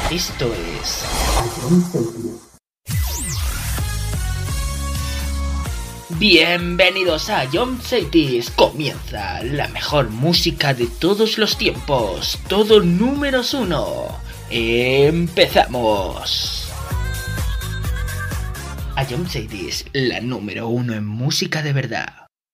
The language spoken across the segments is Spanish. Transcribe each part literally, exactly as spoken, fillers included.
Esto es bienvenidos a Jump Cities. Comienza la mejor música de todos los tiempos. Todo números uno. Empezamos. A Jump Cities, la número uno en música de verdad.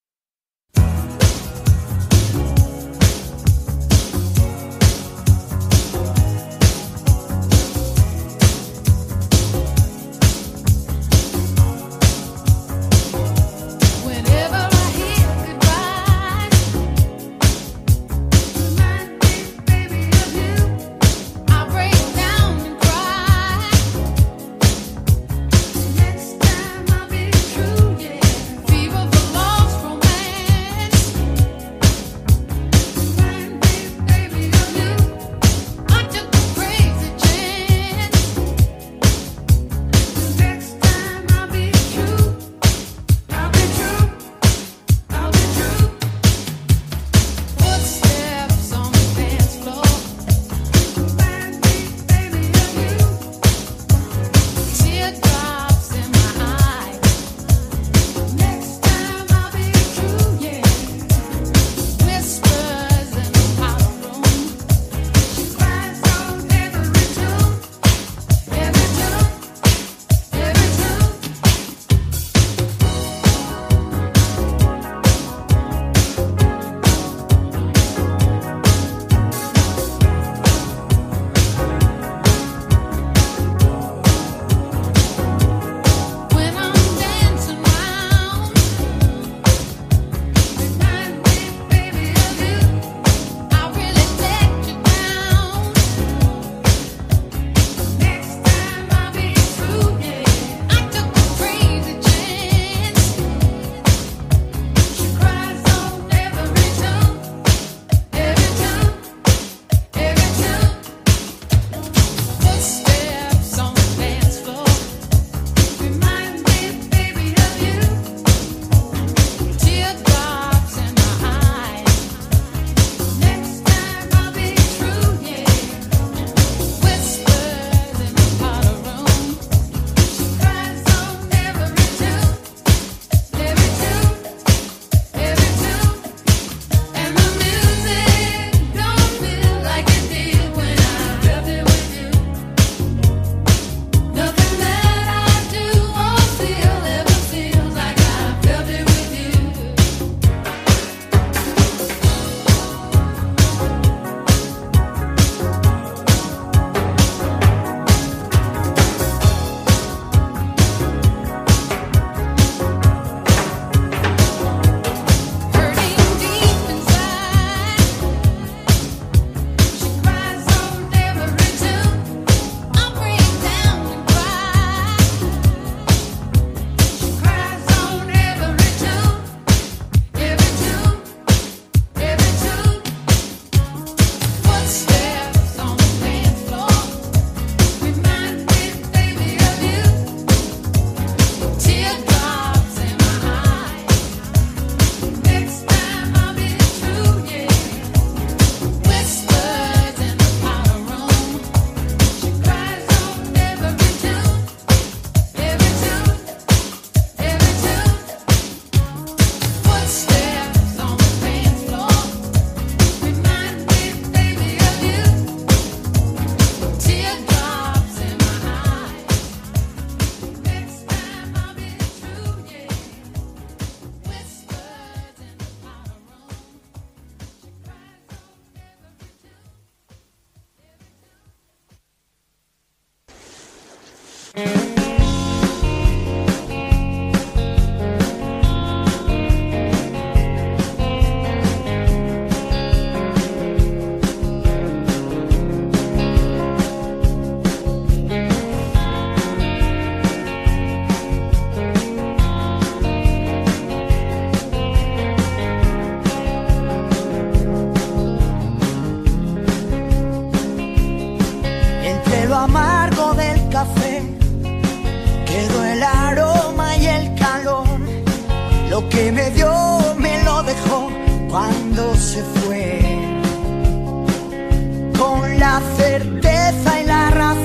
Lo que me dio me lo dejó cuando se fue, con la certeza y la razón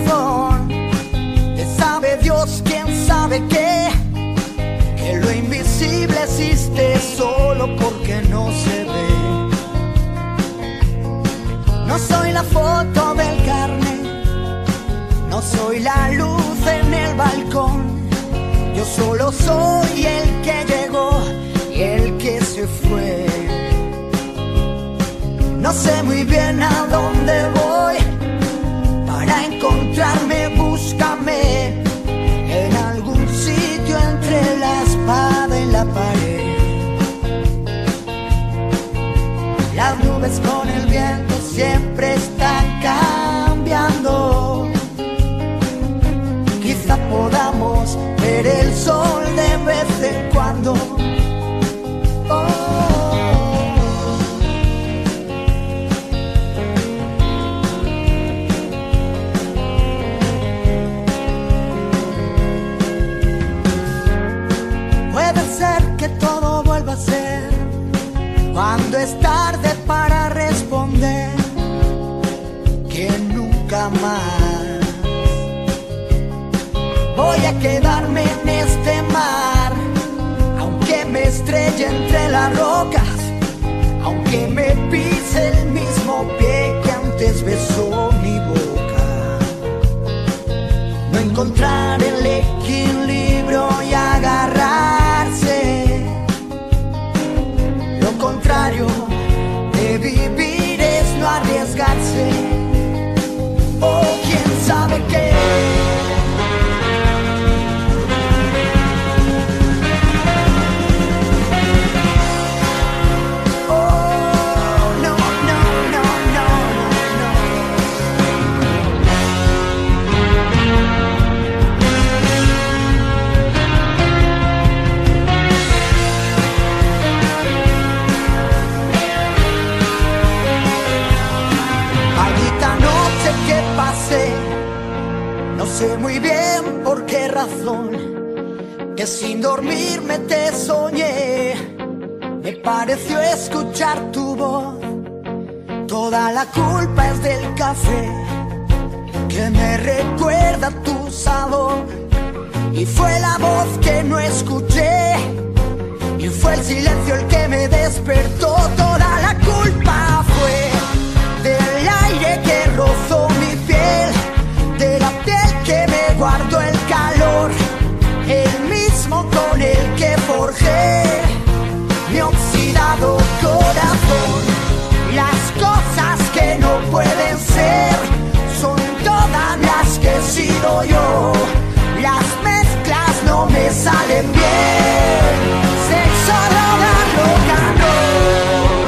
razón. Que sabe Dios, quién sabe qué, que lo invisible existe solo porque no se ve. No soy la foto del carnet, no soy la luz en el balcón. Yo solo soy el que llegó y el que se fue. No sé muy bien a dónde voy, para encontrarme búscame en algún sitio entre la espada y la pared. Las nubes con el viento siempre están cambiando. Quizá podamos ver el sol de vez en cuando. Oh. Puede ser que todo vuelva a ser cuando es tarde para responder, que nunca más voy a quedarme en este mar, aunque me estrelle entre las rocas, aunque me pise el mismo pie que antes besó mi boca. No encontrar el equilibrio y agarrarse, lo contrario de vivir es no arriesgarse. O quién sabe qué. No sé muy bien por qué razón, que sin dormirme te soñé. Me pareció escuchar tu voz. Toda la culpa es del café, que me recuerda tu sabor. Y fue la voz que no escuché, y fue el silencio el que me despertó. Toda la culpa fue del aire que rozó mi piel, de la piel que me guardó el calor, el mismo con el que forjé mi oxidado corazón. Las cosas que no pueden ser son todas las que he sido yo. Las mezclas no me salen bien. Sexo, droga, rock and roll.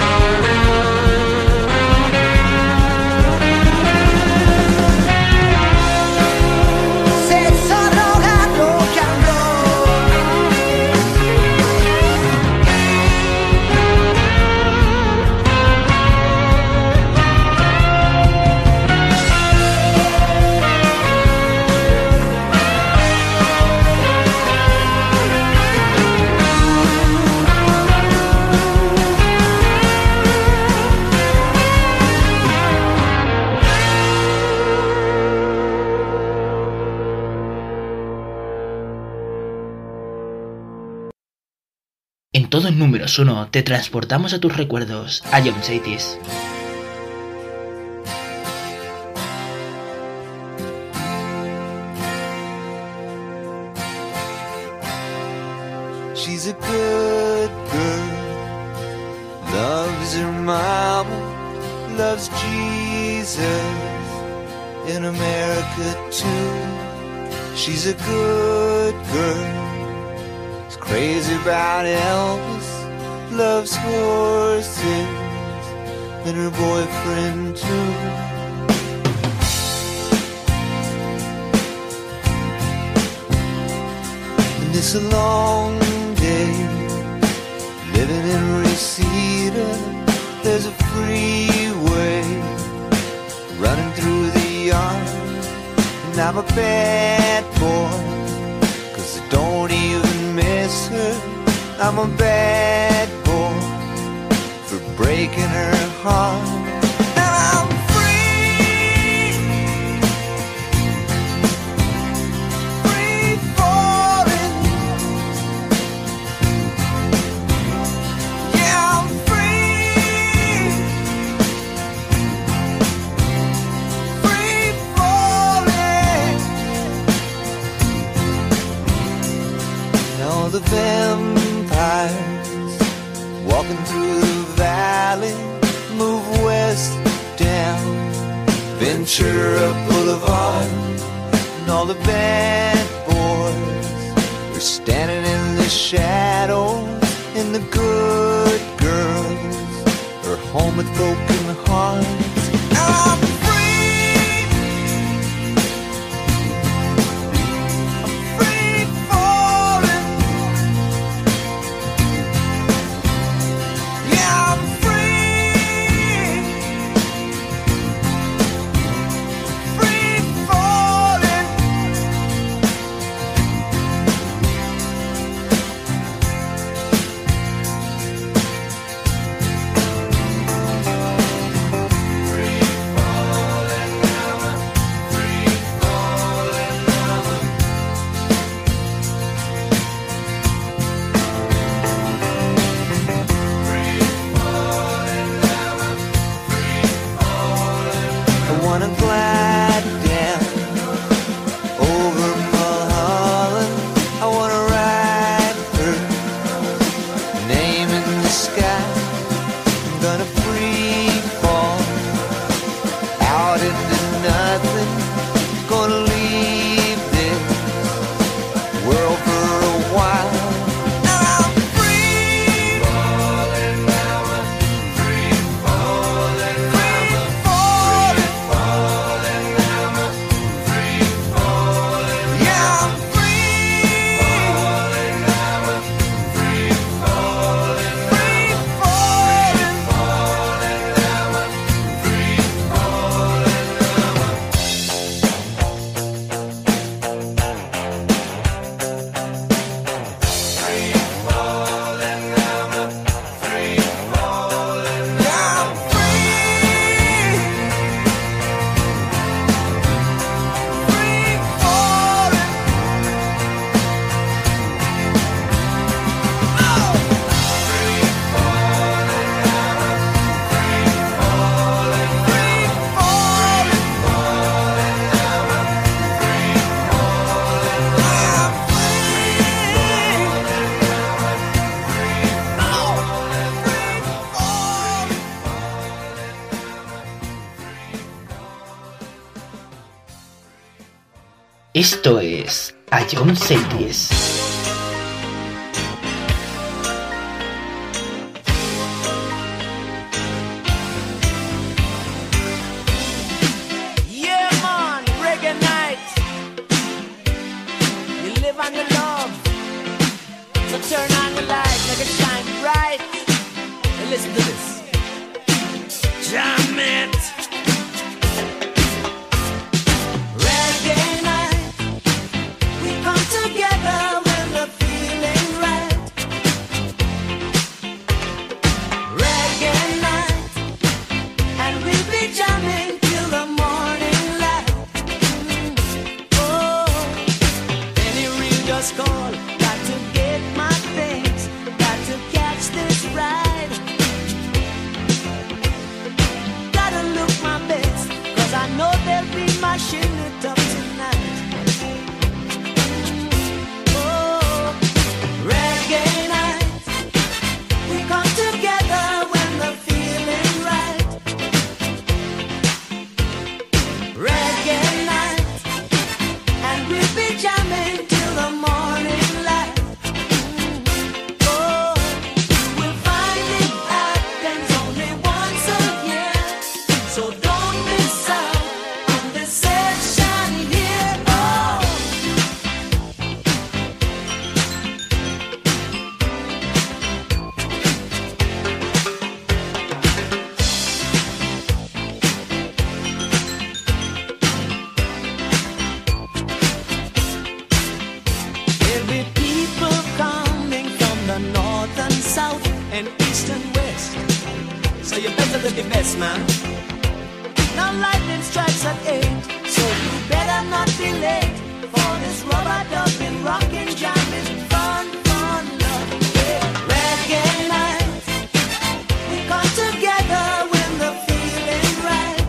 En todos números uno te transportamos a tus recuerdos, a John Saitis. She's a good girl, loves her mama, loves Jesus, in America too. She's a good girl, crazy about Elvis, loves horses, and her boyfriend too. And it's a long day, living in Reseda. There's a freeway running through the yard, and I'm a bad boy, 'cause I don't even miss her. I'm a bad boy for breaking her heart. Now I'm free, Trucking through the valley, move west down Ventura Boulevard, and all the bad boys were standing in the shadows, and the good girls are home with broken hearts. I'm free, I'm free falling, yeah, I'm free, free falling. I wanna glide down over Mulholland. I wanna write her name in the sky. I'm gonna free fall out into nothing. Gonna leave this world for a while. And I'm free falling, free falling, free falling, falling, free falling. Yeah, I'm free falling, free falling, free falling, Esto es Ion Series. Yeah, man, reggae night. You live on your love. So turn on the light, make it shine bright. And listen to this. Jam it. Reggae night. We come together when the feeling right. Reggae night. And we'll be jamming till the morning light. Oh, any real just call. Got to get my things. Got to catch this ride. Gotta look my best, cause I know they'll be mashing it up tonight. Oh, reggae night. We come together when the feeling right. Reggae night. And we'll be jamming till the morning light. Oh, you will find it happens only once a year. So don't miss out on this session here. Oh. There'll be people coming from the north and south and east and west. So you better live your best, man. Now lightning strikes at eight, so you better not be late for this rubber dubbing, rockin', jamming, fun, fun, love. Yeah. Reggae night. We come together when the feeling right.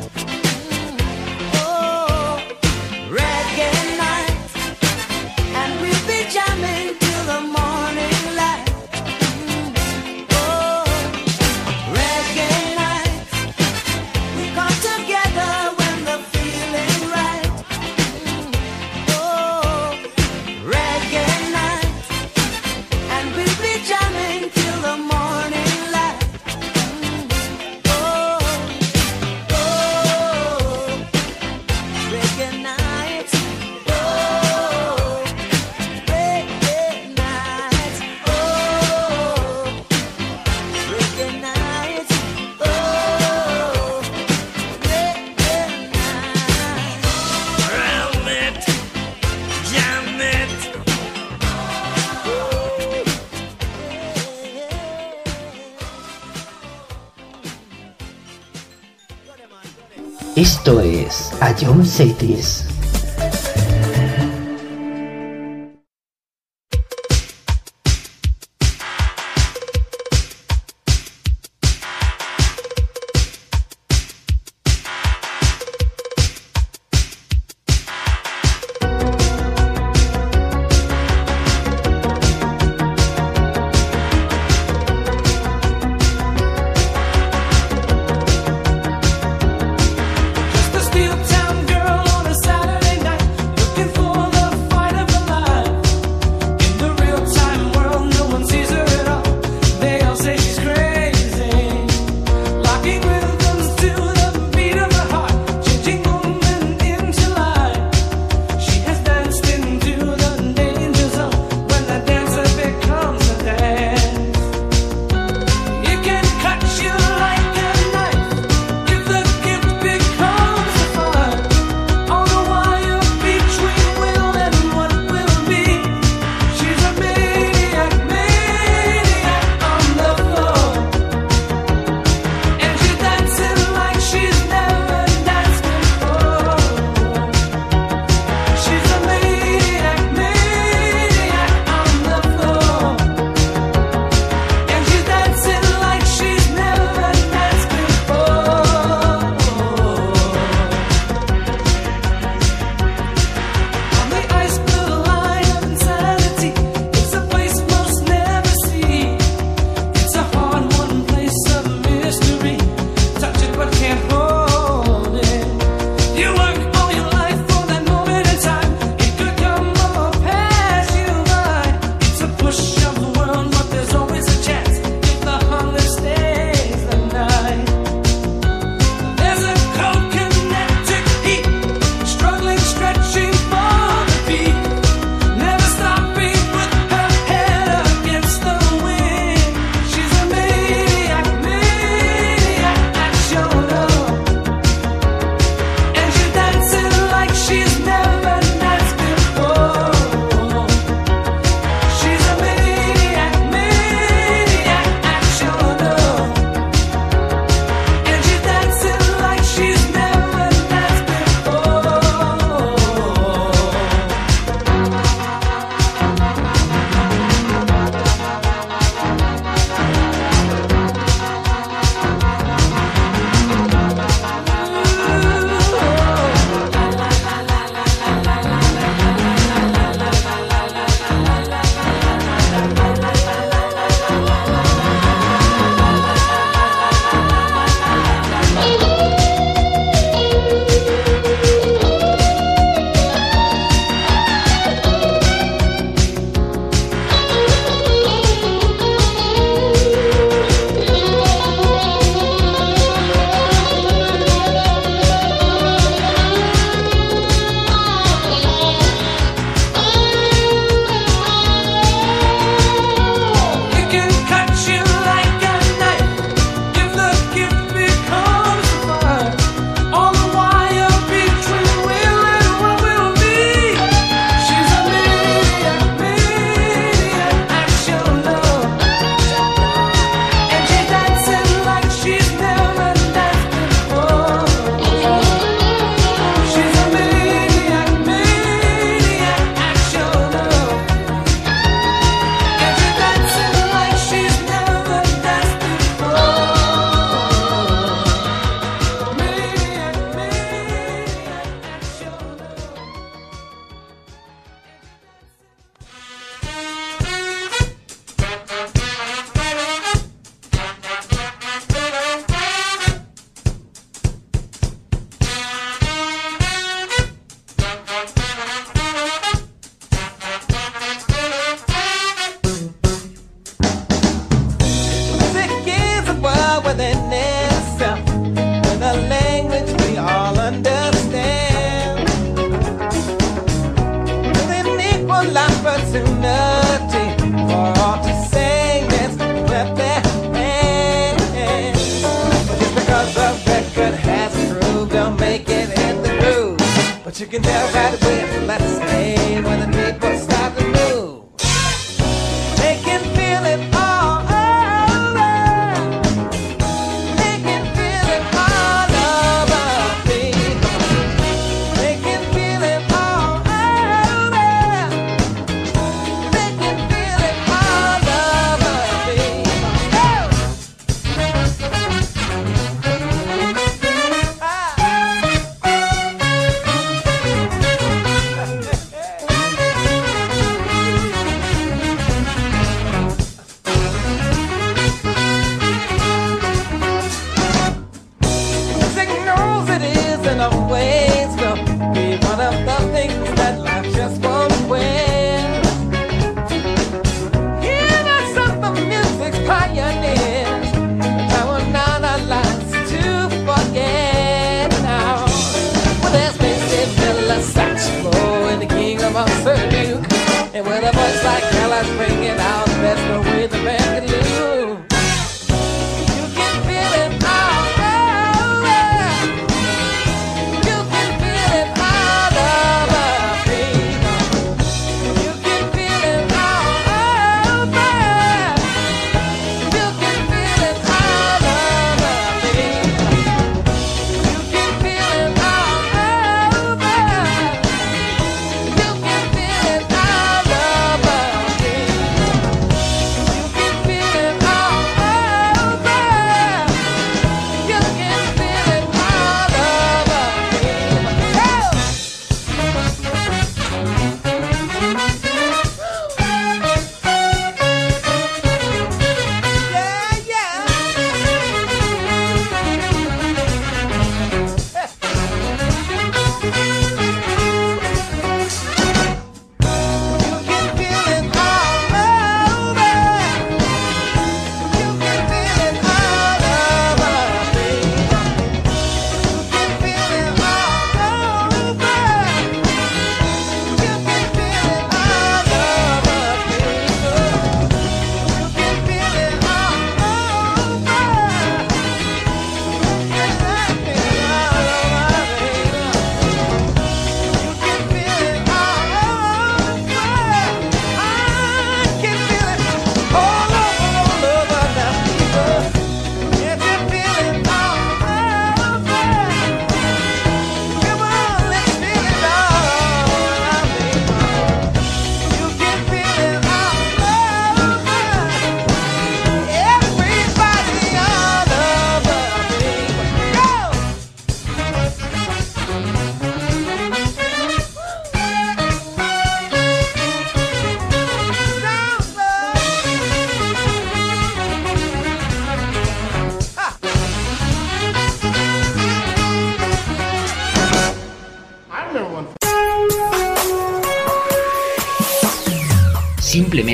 Oh, reggae night. And we'll be jamming till the morning light. Oh, Esto es Ion Cities. But you can tell right away, let's stay when the people start to move. They can feel it all over. They can feel it all over me.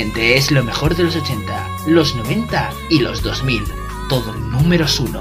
Simplemente es lo mejor de los ochenta, los noventa y los dos mil. Todo números uno.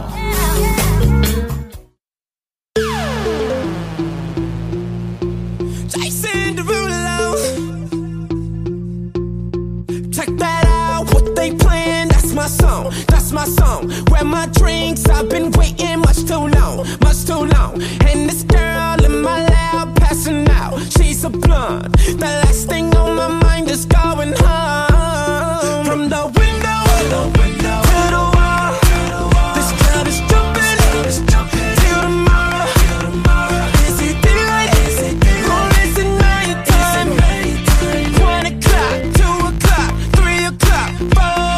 Song, that's my song. Grab my drinks, I've been waiting much too long, much too long. And this girl in my lap passing out, she's a blonde. The last thing on my mind is going home. From the window, to the, window, to the wall, this club is jumping, till tomorrow. Is it daylight? Or is it nighttime? One o'clock, two o'clock, three o'clock, four.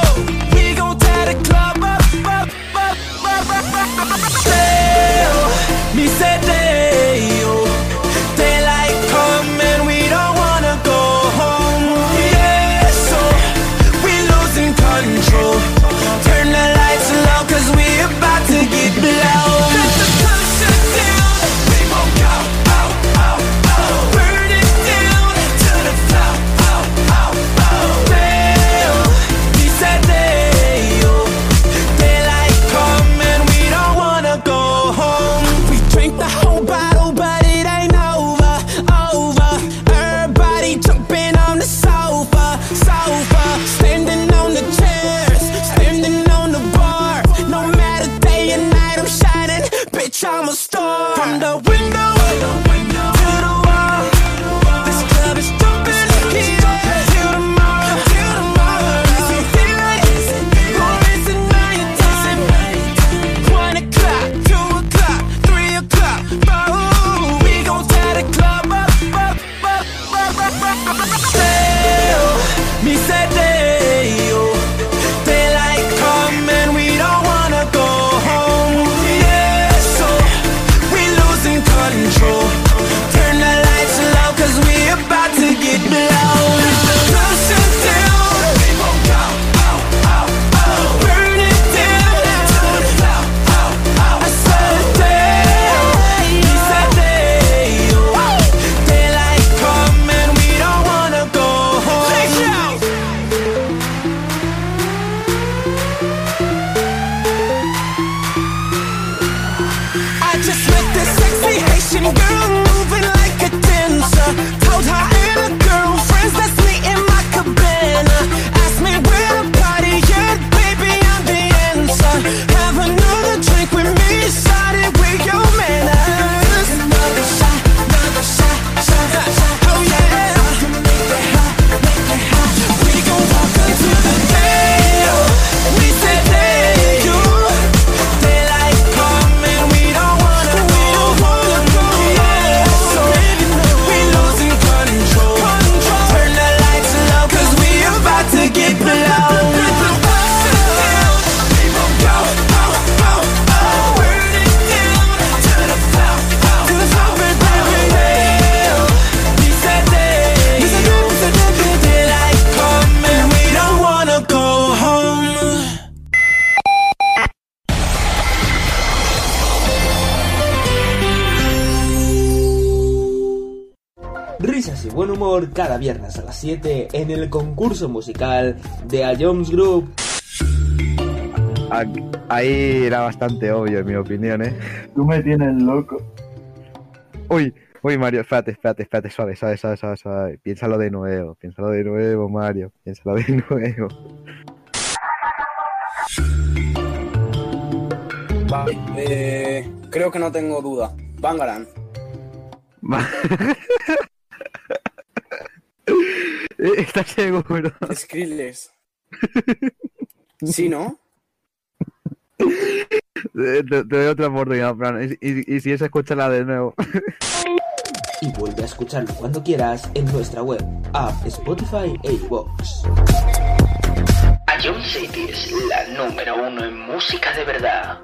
Me said they, oh, daylight come and we don't wanna go home. Yeah, so we losing control. Turn the lights low 'cause we about to get blown. Let the sun shut down. We won't go out, out, out. Burn it down to the floor. Out, out, out. Well, me said they, oh, daylight come and we don't wanna go home. Drink the whole bottle, but it ain't over, over. Everybody jumping on the sofa, sofa. Standing on the chairs, standing on the bar. No matter day and night, I'm shining, bitch, I'm a star. From the window, to the wall, this club is jumping, yeah, till tomorrow, till tomorrow. Is it daylight, or is it nighttime? One o'clock, two o'clock, three o'clock, four. We gon' tie the club up, up, up, up, up, up, up. Still, me said they, oh, daylight come and we don't wanna go home. Yeah, so we losing control. Turn the lights low 'cause we about to get blown. Sun shut down. We won't go out, out, out. Burn it down to the floor. Out, out, I said they, he said they, oh, daylight come and we don't wanna go home. I just met this sexy Haitian girl moving like a dancer. Told her and her girlfriends let's meet in my cabana. Asked me where the party at, baby I'm the answer. Have another drink with me, started with your manners. Another shot, another shot, shot, shot. Oh yeah, make it hot, make it hot. We gon' walk into the day. We said they, you, daylight come and we don't wanna, we don't wanna go. Yeah, so we losing control. Turn the lights low 'cause we about to get blown. We won't go out, out, out. Burn it down to the floor, to the floor, baby. We said they, daylight come and we don't wanna go home. Risas y buen humor cada viernes a las siete en el concurso musical de A Jones Group. Ahí era bastante obvio, en mi opinión, ¿eh? Tú me tienes loco. Uy, uy, Mario, espérate, espérate, espérate, suave, suave, suave, suave, suave. Piénsalo de nuevo, piénsalo de nuevo, Mario, piénsalo de nuevo. Vale, eh, creo que no tengo duda. Bangarang. ¿Estás seguro? Skrillex. ¿Sí, no? Te, te doy otra oportunidad, Fran. Y, y, y si es, escúchala de nuevo. Y vuelve a escucharlo cuando quieras en nuestra web, app, Spotify e iVoox. A Jones City es la número uno en música de verdad.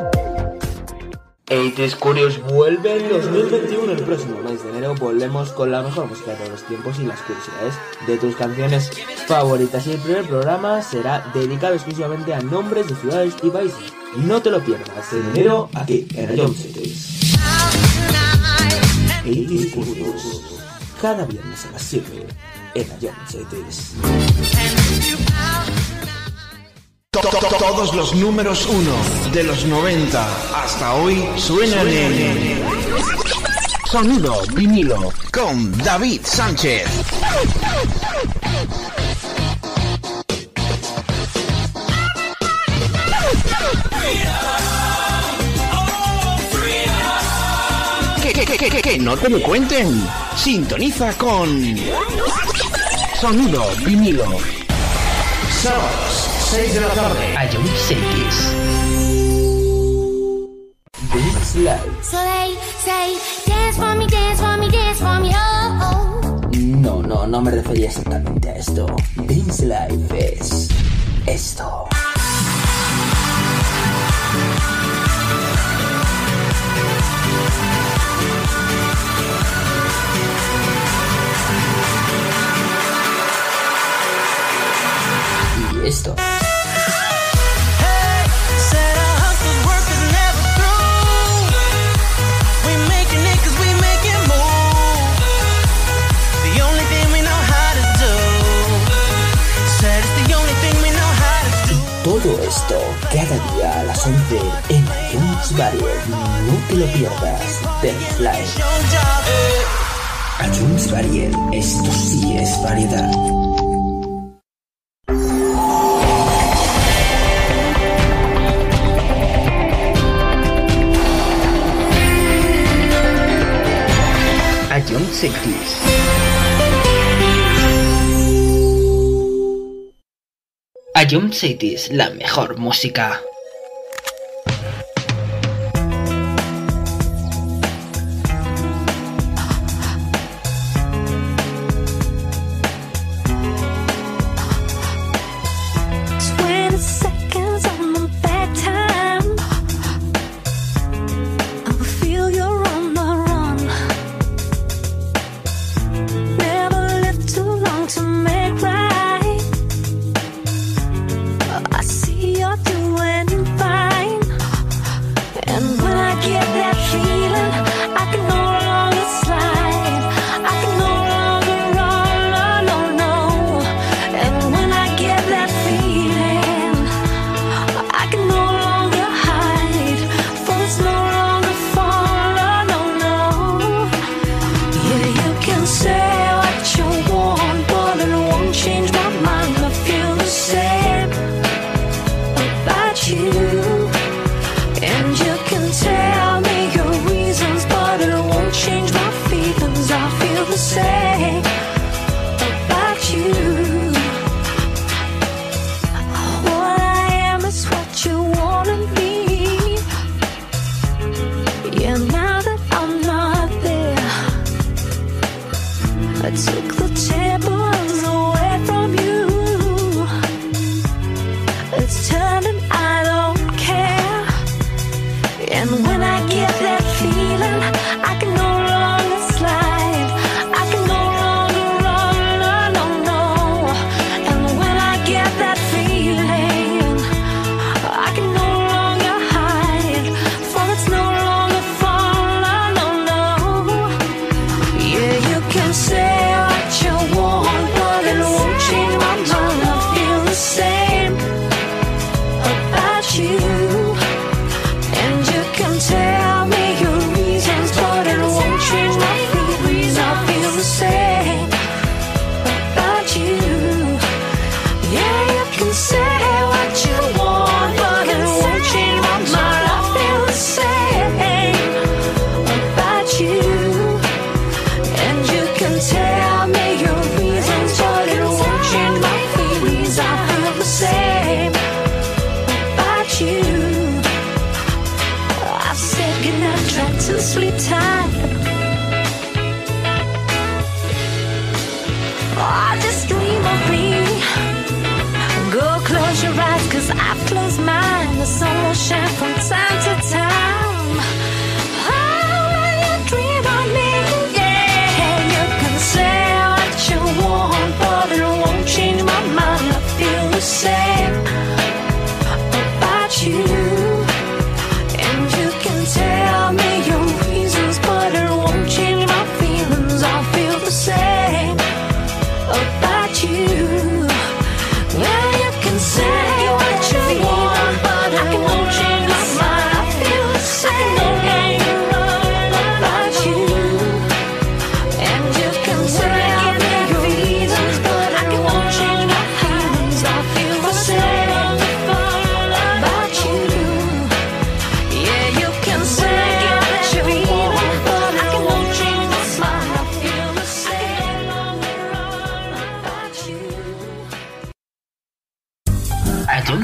ochenta Curious vuelve en dos mil veintiuno. El próximo mes de enero volvemos con la mejor música de todos los tiempos y las curiosidades de tus canciones favoritas. Y el primer programa será dedicado exclusivamente a nombres de ciudades y países. No te lo pierdas en enero aquí en A Jones City. ochenta Curious, cada viernes a las siete en Ion Cities. Todos los números uno de los noventa hasta hoy suenan en Sonido Vinilo con David Sánchez. Que, que, que, que, que no te lo cuenten. Sintoniza con Sonido Vinilo. Sábados, seis de la tarde. Ion Cities. This Life. So they say, dance for me, dance for me, dance for me, oh, oh. No, no, no me refería exactamente a esto. This Life es esto. Y esto. Todo esto cada día a las once en iTunes Varied. No te lo pierdas. Dance Live. iTunes Varied. Esto sí es variedad. Ion Cities. Ion Cities, la mejor música.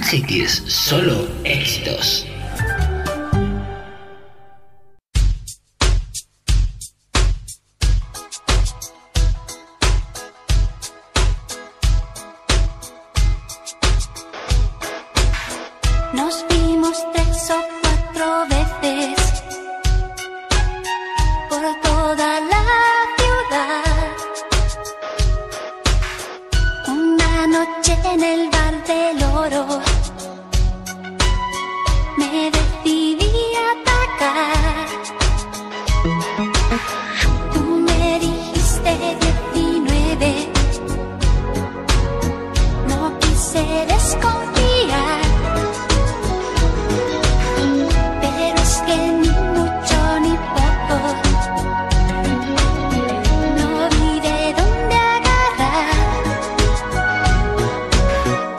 Hit Kiss, solo éxitos. Nos vimos tres o cuatro veces por toda la ciudad. Una noche en el bar del Oro me decidí a atacar. Tú me dijiste diecinueve, no quise desconfiar. Pero es que ni mucho ni poco, no vi de dónde agarrar.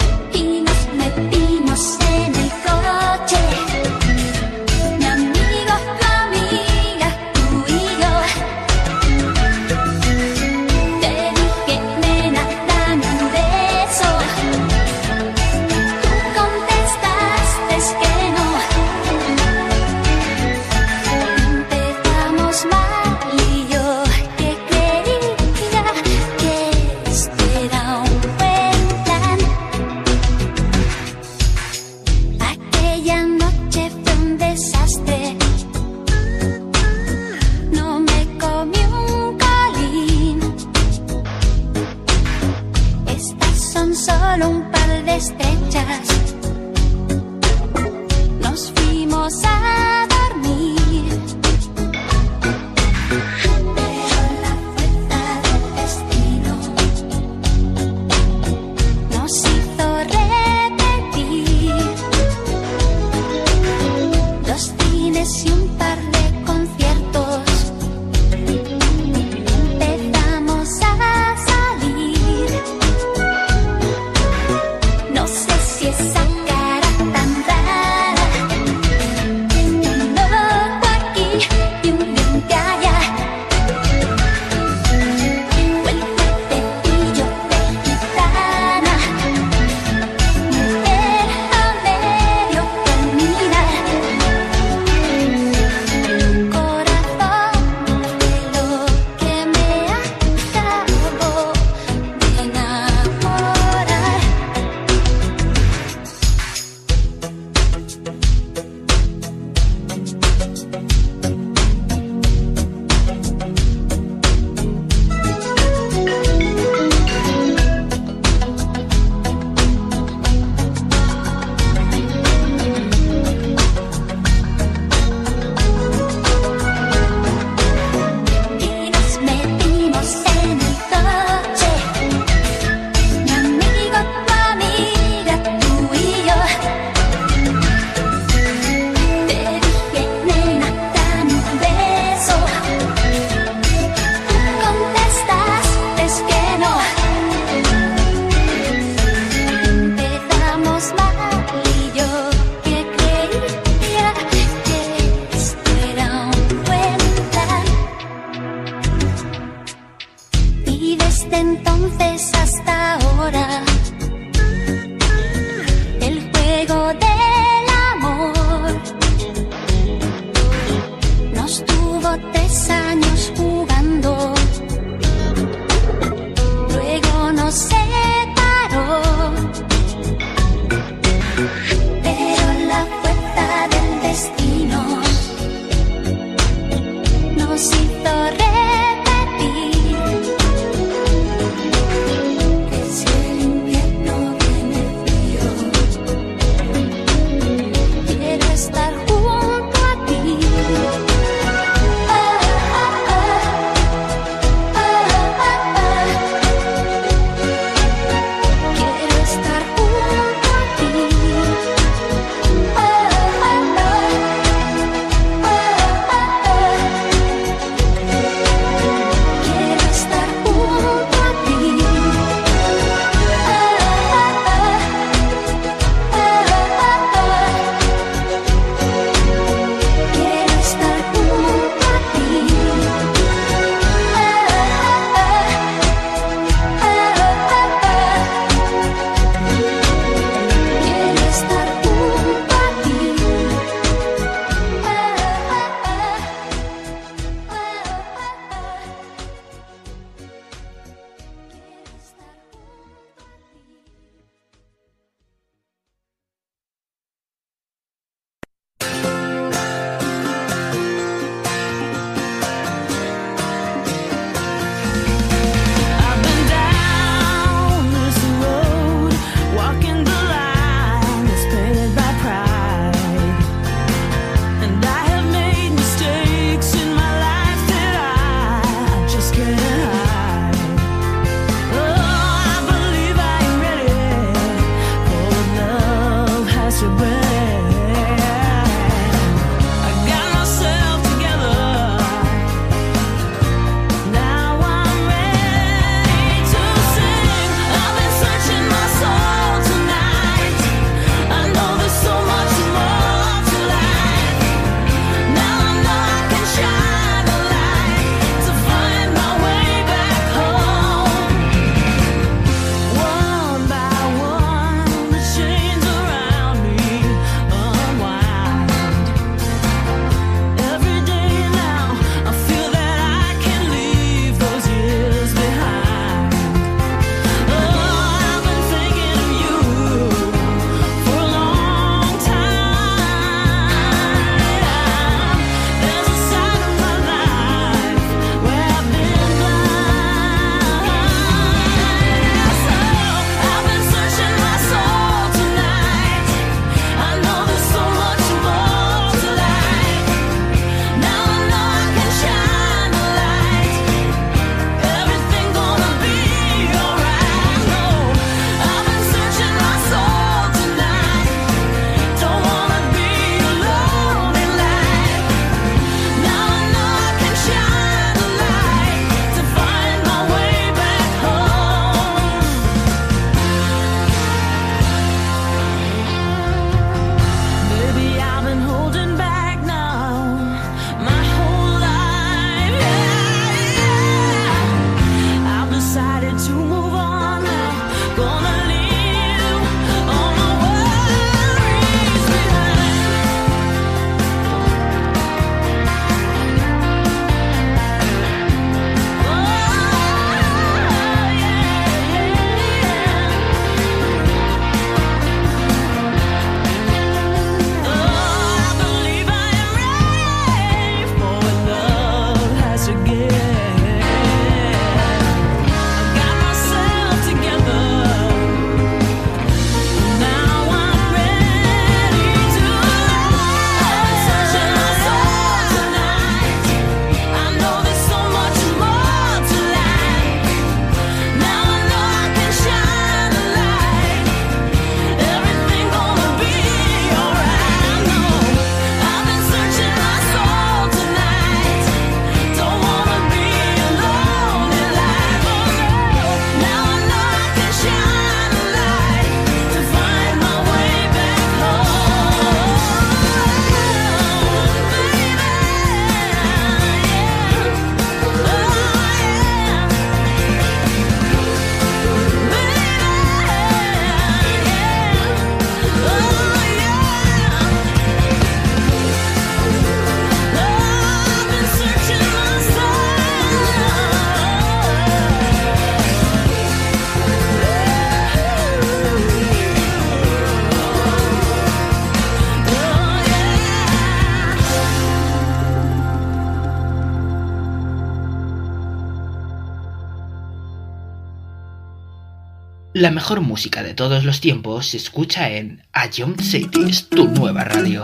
La mejor música de todos los tiempos se escucha en Ion Cities, tu nueva radio.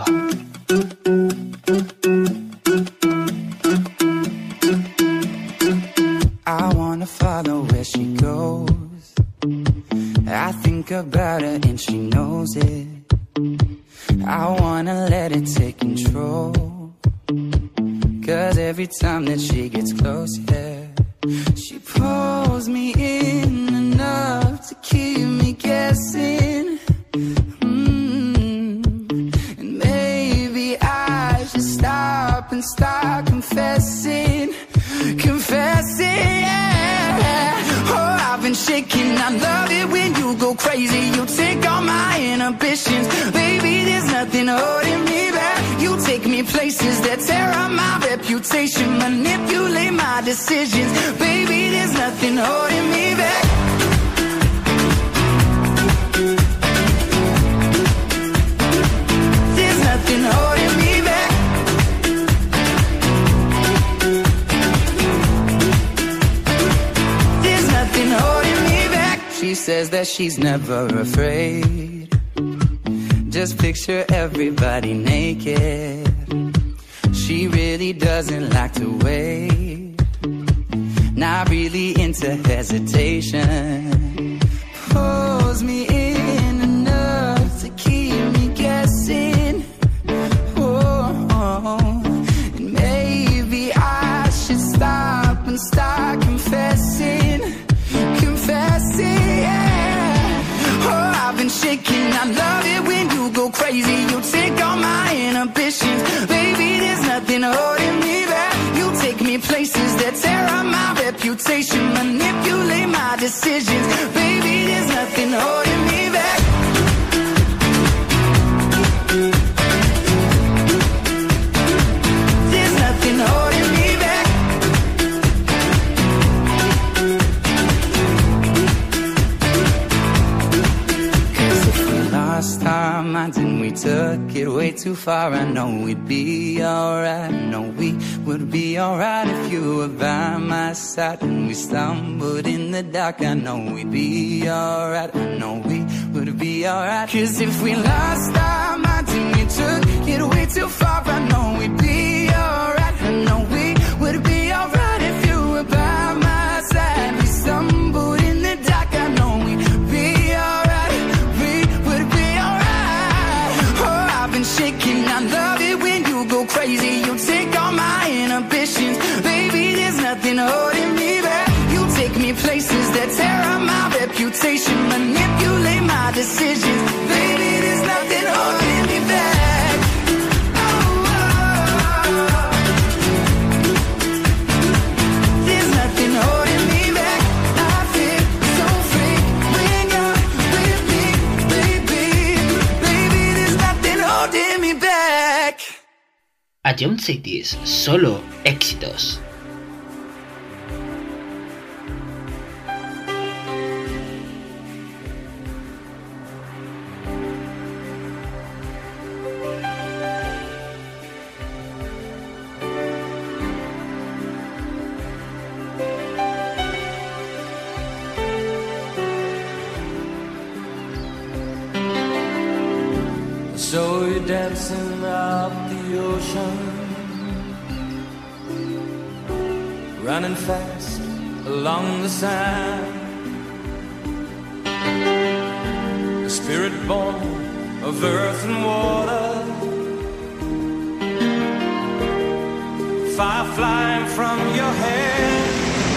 I wanna follow where she goes. I think about her and she knows it. I wanna let it take control. Cause every time that she gets close, yeah, she pulls me in enough to keep me guessing. Mm. And maybe I should stop and start confessing. Confessing, yeah. Oh, I've been shaking. I love it when you go crazy. You take all my inhibitions. Baby, there's nothing holding me back. You take me places that tear up my reputation. Manipulate my decisions. Baby, there's nothing holding me back. There's nothing holding me back. swears that she's never afraid. Just picture everybody naked. She really doesn't like to wait. Not really into hesitation. Pulls me in enough to keep me guessing. Oh, and maybe I should stop and start confessing. Confessing, yeah. Oh, I've been shaking. I love it when you go crazy. You take all my inhibitions. Baby, there's nothing holding me back. You take me places that tear up my reputation. Manipulate my decisions. Baby, there's nothing holding me back. There's nothing holding me back. Cause if we lost our minds and we took it way too far, I know we'd be alright. I know we would be alright if you were by my side. When we stumbled in the dark, I know we'd be alright. I know we would be alright. Cause if we lost our minds and we took it way too far, I know we'd be alright. I know we would be alright if you were by my side. We stumbled in the dark, I know we'd be alright. We would be alright. Oh, I've been shaking. I love it when you go crazy. You take all my inhibitions. Baby, there's nothing holding me back. You take me places that tear up my reputation. Manipulate my decisions. Baby, there's nothing holding me back. Oh, oh, oh. There's nothing holding me back. I feel so free when you're with me, baby. Baby, there's nothing holding me back. A John Cities, solo éxitos. So you're dancing up the ocean, running fast along the sand. A spirit born of earth and water, fire flying from your head.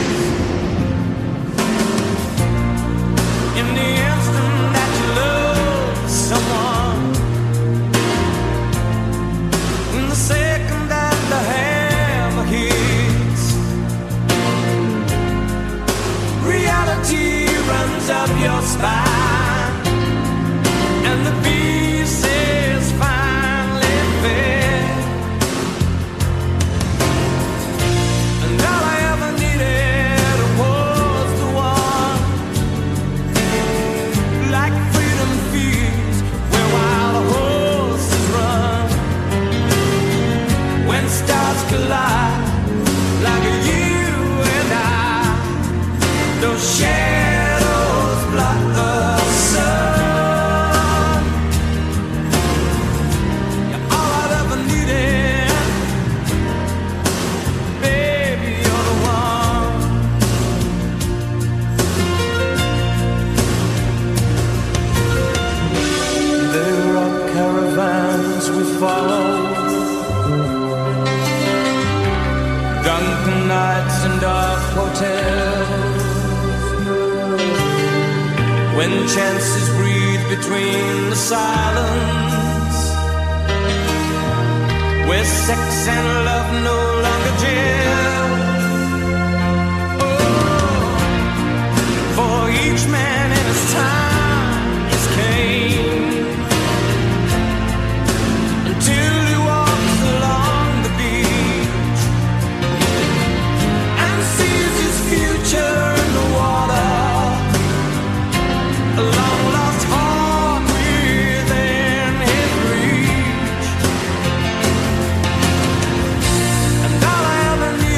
In the instant that you love someone, in the second that the hammer hits, reality runs up your spine, and the pieces finally fit. And all I ever needed was the one, like freedom feeds where wild horses run. When stars collide, like you and I, those shadows block the sun. You're all I've ever needed, baby, you're the one. There are caravans we follow, drunken nights and dark hotels, when chances breathe between the silence, where sex and love no longer gel. Oh, for each man in his time is Cain, until he walks along the beach and sees his future in the water, a long lost heart within his reach. And all I ever need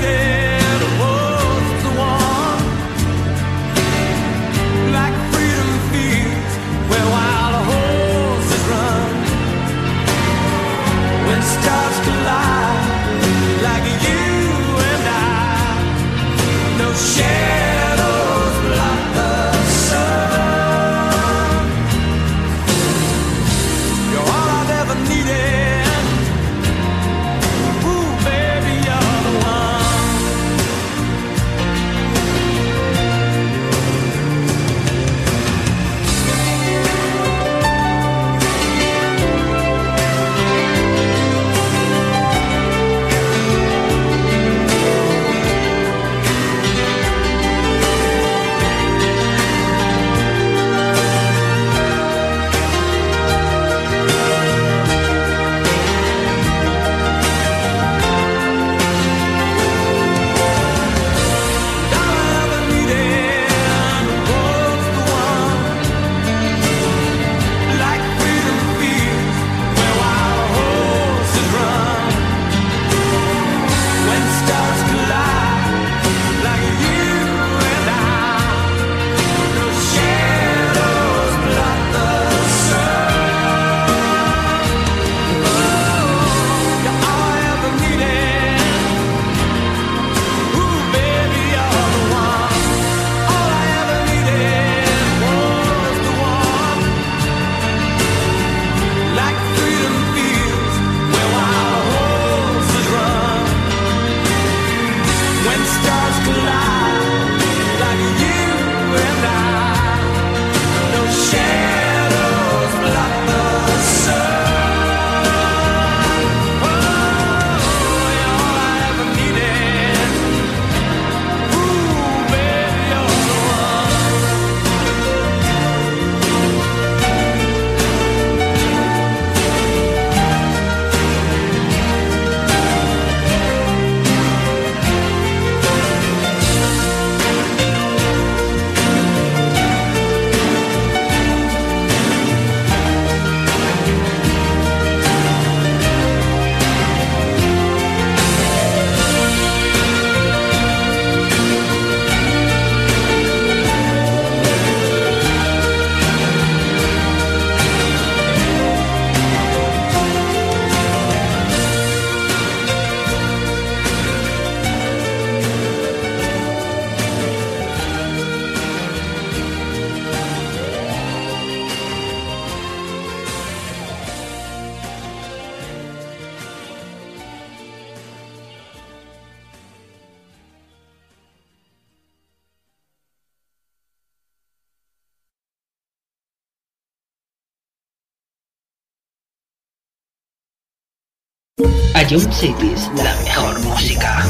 Ion Cities, la mejor música.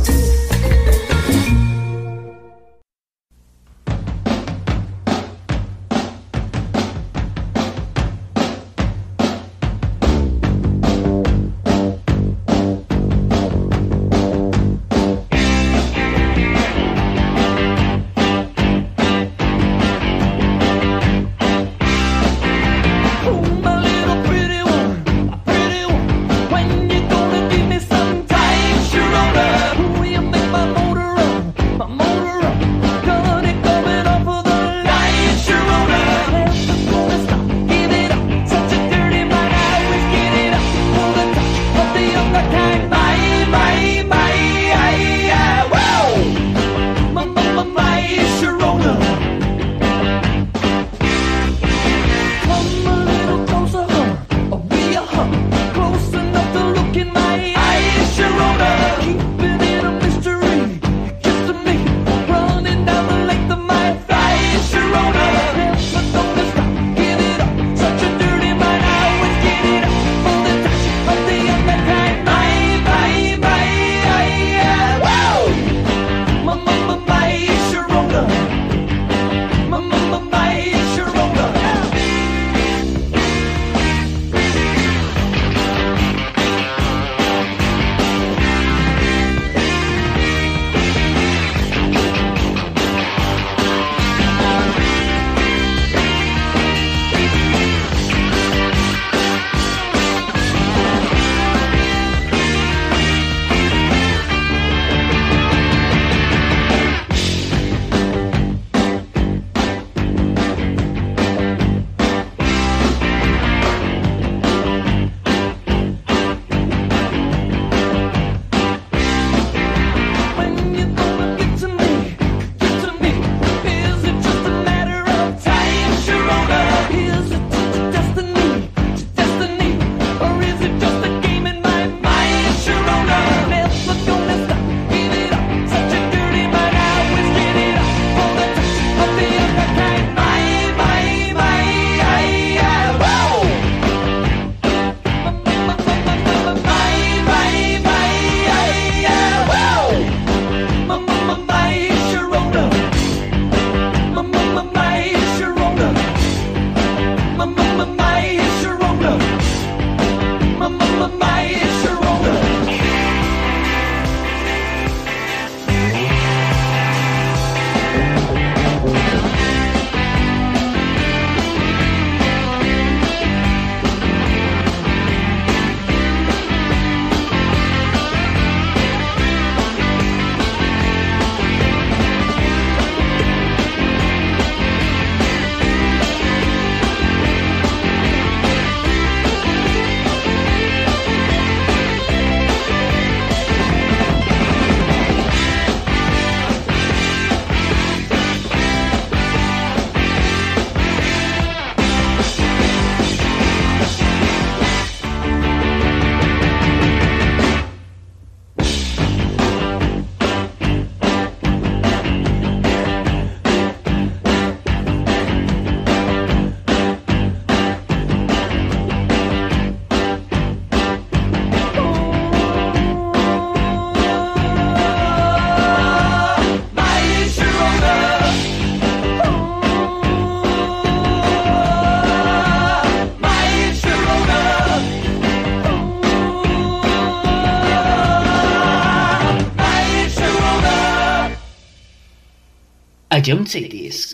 Ion Cities.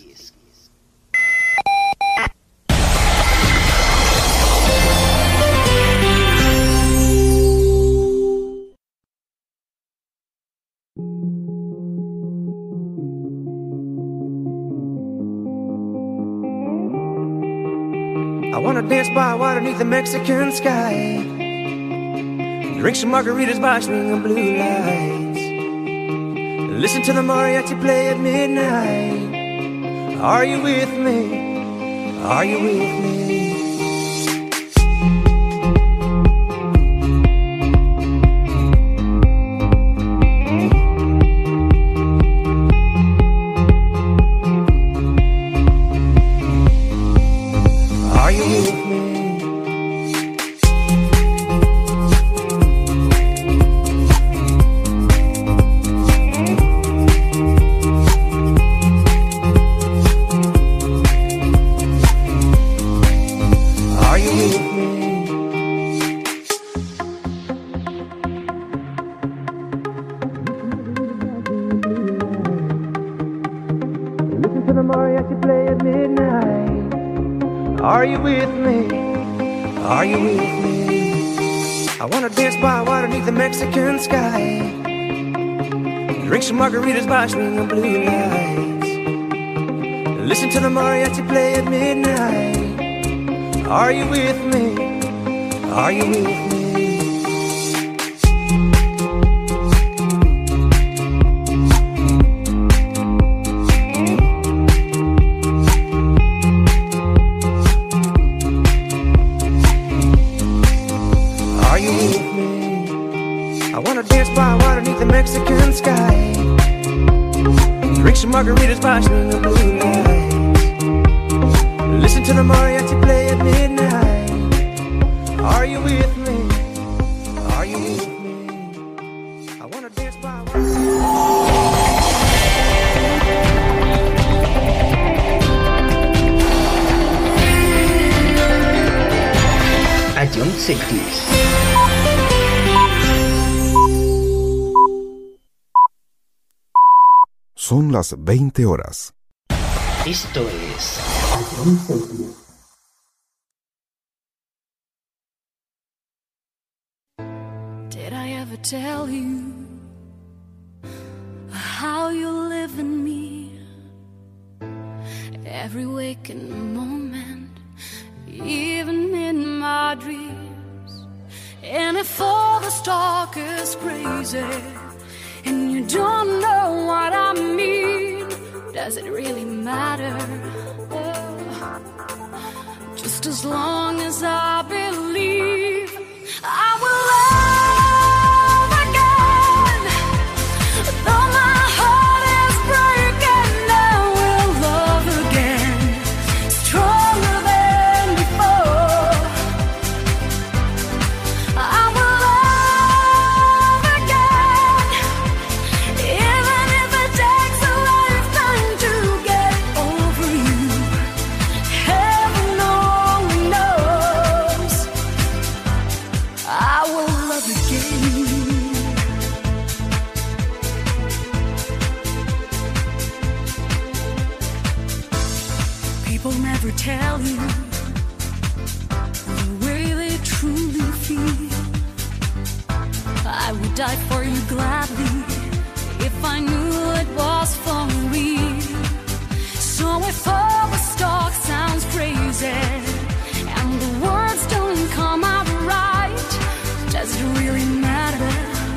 I wanna dance by water beneath the Mexican sky, drink some margaritas by swinging blue lights, listen to the mariachi play at midnight. Are you with me? Are you with me? Are you with me? play at midnight. Are you with me? Are you with me? I wanna dance by water beneath the Mexican sky. Drink some margaritas by swinging blue lights. Listen to the mariachi play at midnight. Are you with me? Are you with me? Mexican sky. Drink some margaritas by swinging blue lights. Listen to the mariachi play at midnight. Are you with me? Are you with me? I wanna dance by. A John Celtics. Son las veinte horas. Esto es Did I ever tell you how you live in me? Every waking moment, even in my dreams. And if all the talk is crazy and you don't know what I mean, does it really matter? Oh, just as long as I believe I will love again. Though my heart is breaking, I will love again, stronger than before. I will love again, even if it takes a lifetime to get over you. Heaven only knows. I will love again. People never tell you the way they truly feel. I would die for you gladly if I knew it was for real. So if all the talk sounds crazy and the words don't come out right, does it really matter?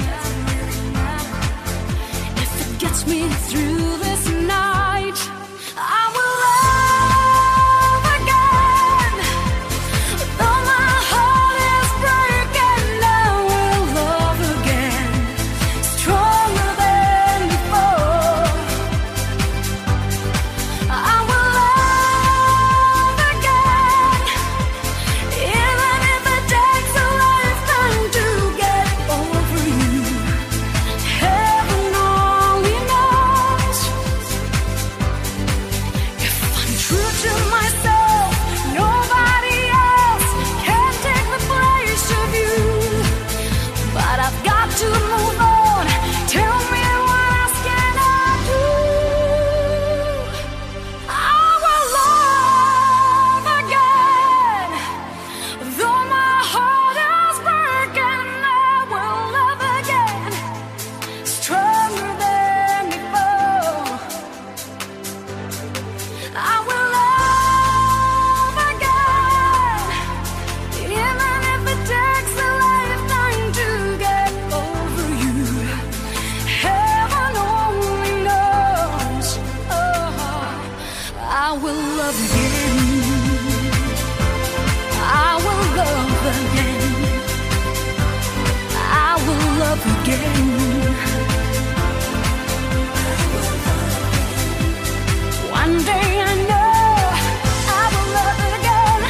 If it gets me through this night, I will love again. Though my heart is breaking, I will love again, stronger than before. I will love again, even if it takes a lifetime to get over you. Heaven only knows. If I'm true to myself, nobody else can take the place of you. But I've got to move on. Tell me what else can I do? I will love again. Though my heart is breaking, I will love again, stronger than before. I will love again, even if it takes a lifetime to get over you. Heaven only knows. Oh, I will love again. I will love again. I will love again. One day I know I will love again.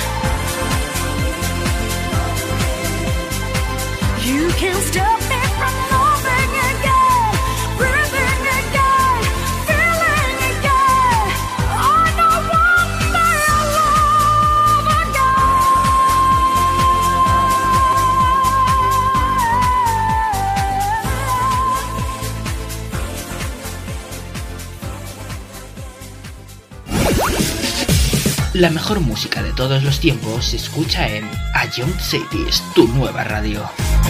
You can't stop me from loving again, breathing again, feeling again. I know one day I'll love again. La mejor música de todos los tiempos se escucha en A Young Cities, tu nueva radio.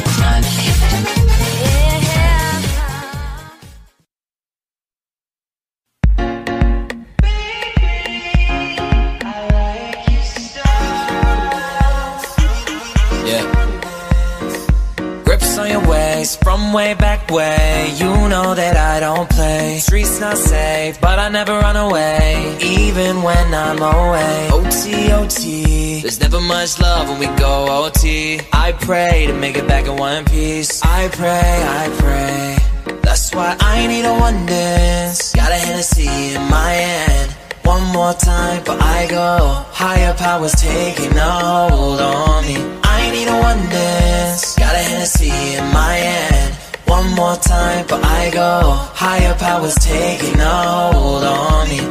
From way back way, you know that I don't play. Streets not safe, but I never run away, even when I'm away. O T, O T, there's never much love when we go O T. I pray to make it back in one piece. I pray, I pray. That's why I need a one dance. Got a Hennessy in my hand. One more time, but I go. Higher powers taking a hold on me. I need a one dance. Got a Hennessy in my hand. One more time, but I go. Higher powers taking a hold on me.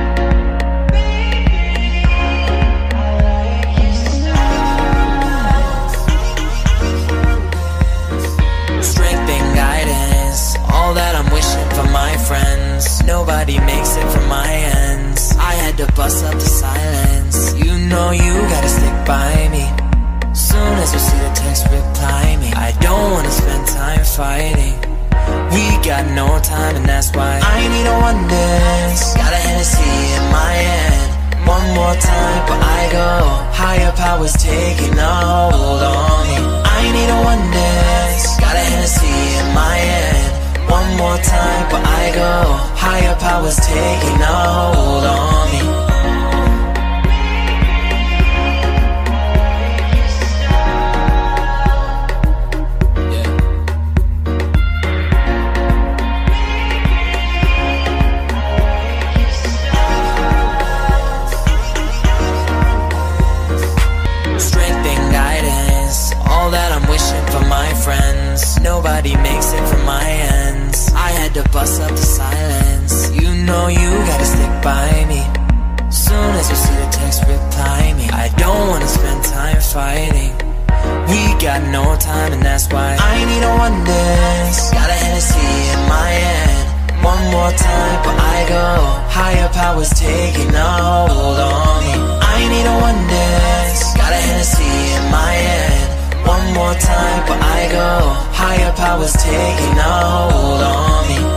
Strength and guidance, all that I'm wishing for my friends. Nobody makes it from my ends. I had to bust up the silence. You know you gotta stick by me. Soon as you see the text, reply me. I don't wanna spend time fighting. We got no time and that's why I need a one dance. Got a Hennessy in my hand. One more time, but I go. Higher powers taking a hold on me. I need a one dance. Got a Hennessy in my hand. One more time, but I go. Higher powers taking a hold on me. Nobody makes it from my ends. I had to bust up the silence. You know you gotta stick by me. Soon as you see the text, reply me. I don't wanna spend time fighting. We got no time and that's why I need a one dance. Got a Hennessy in my hand. One more time, but I go. Higher powers taking a hold on me. I need a one dance. Got a Hennessy in my hand. One more time, but I go. Higher powers taking a hold on me.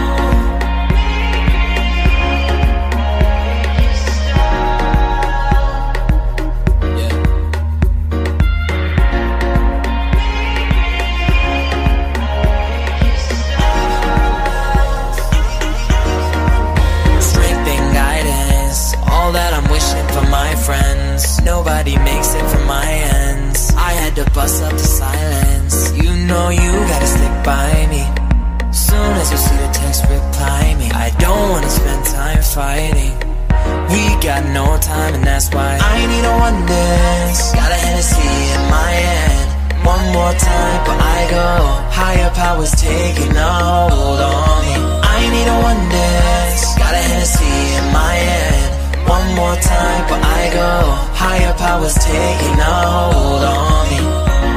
Strength and guidance, all that I'm wishing for my friends. Nobody makes it from my ends. I had to bust up the silence. You know you gotta stick by me. Soon as you see the text, reply me. I don't wanna spend time fighting. We got no time and that's why I need a one dance. Got a Hennessy in my hand. One more time, but I go. Higher powers taking a hold on me. I need a one dance. Got a Hennessy in my hand. One more time, but I go. Higher powers taking a hold on me.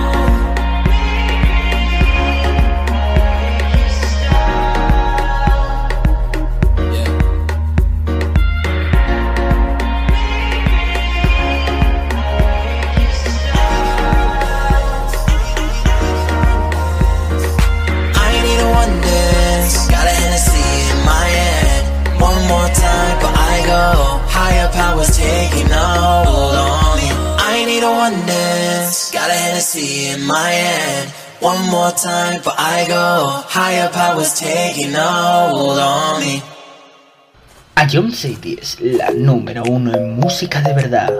Powers taking a hold on me. I need a one dance. Got a Hennessy in my hand. One more time, but I go. Higher powers taking a hold on me. A Young Cities, la número uno en música de verdad.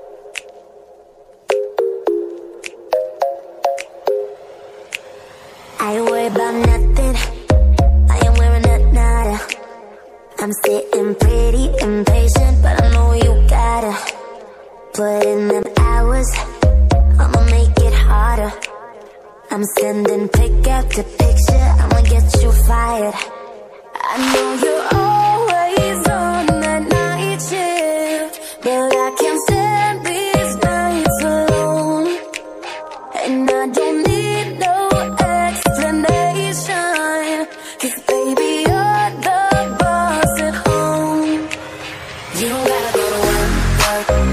I don't worry about nothing. I am wearing a nada. I'm sitting pretty impatient, but I know you gotta put in them hours. I'ma make it harder. I'm sending pick after picture. I'ma get you fired. I know you're always on that night shift, but I can't stand these nights alone. And I don't need no explanation, 'cause baby you're the boss at home. You don't gotta go to work, work,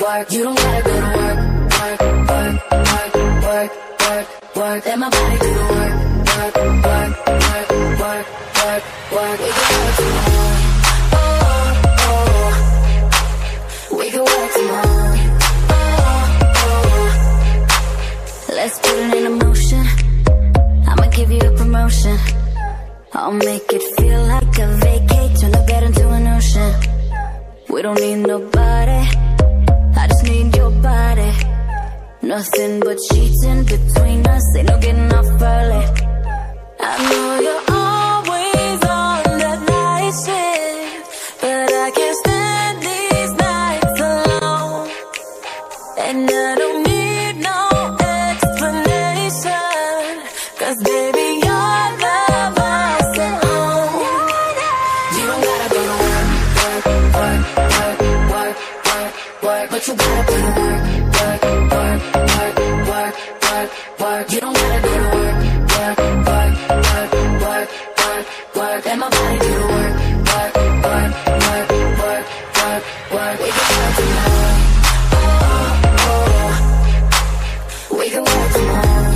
work. You don't gotta go to work, work, work, work, work, work, work. Let my body do the work, work, work, work, work, work, work. We can work tomorrow. Oh, oh. We can work tomorrow. Oh, oh. Let's put it in motion. I'ma give you a promotion. I'll make it feel like a vacate. Turn the bed into an ocean. We don't need nobody, I just need your body. Nothing but sheets in between us, ain't no getting off early. I know you're always on that night shift, but I can't stand these nights alone. And I don't need no explanation, cause baby you're the boss at home. You don't gotta go to work, work, work, work, work, work, work, but you gotta put in work, work, work, work, work, work, work. You don't gotta go to work, work, work, work, work, work, work. Let my body do the work, work, work, work, work, work, work. We can work tomorrow. Oh, oh. We can work tomorrow.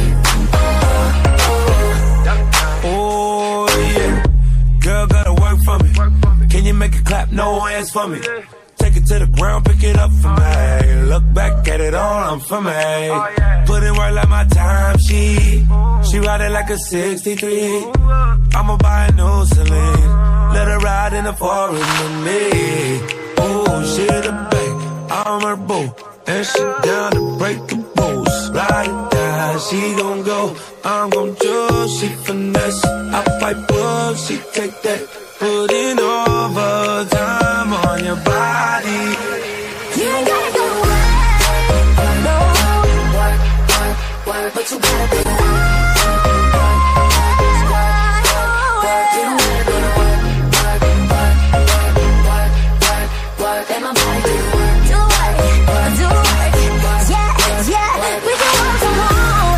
Oh, oh. Oh yeah, girl gotta work for me. Can you make it clap? No hands for me. Take it to the ground, pick it up for me. Look back at it all, I'm for me. Put in work like my time, she She ride it like a sixty-three. I'ma buy a new Celine. Let her ride in the forest with me. Oh, she the babe, I'm her boo. And she down to break the rules. Ride it down, she gon' go, I'm gon' choose. She finesse, I fight bulls, she take that. Putting overtime on your body. You ain't gotta go to work, no. Work, work, work, but you gotta be work, work, work, work, work. You don't gotta go to work, work, work, work, work, work, work. Let my body do the work, do work, do work. Yeah, yeah, we can work from home.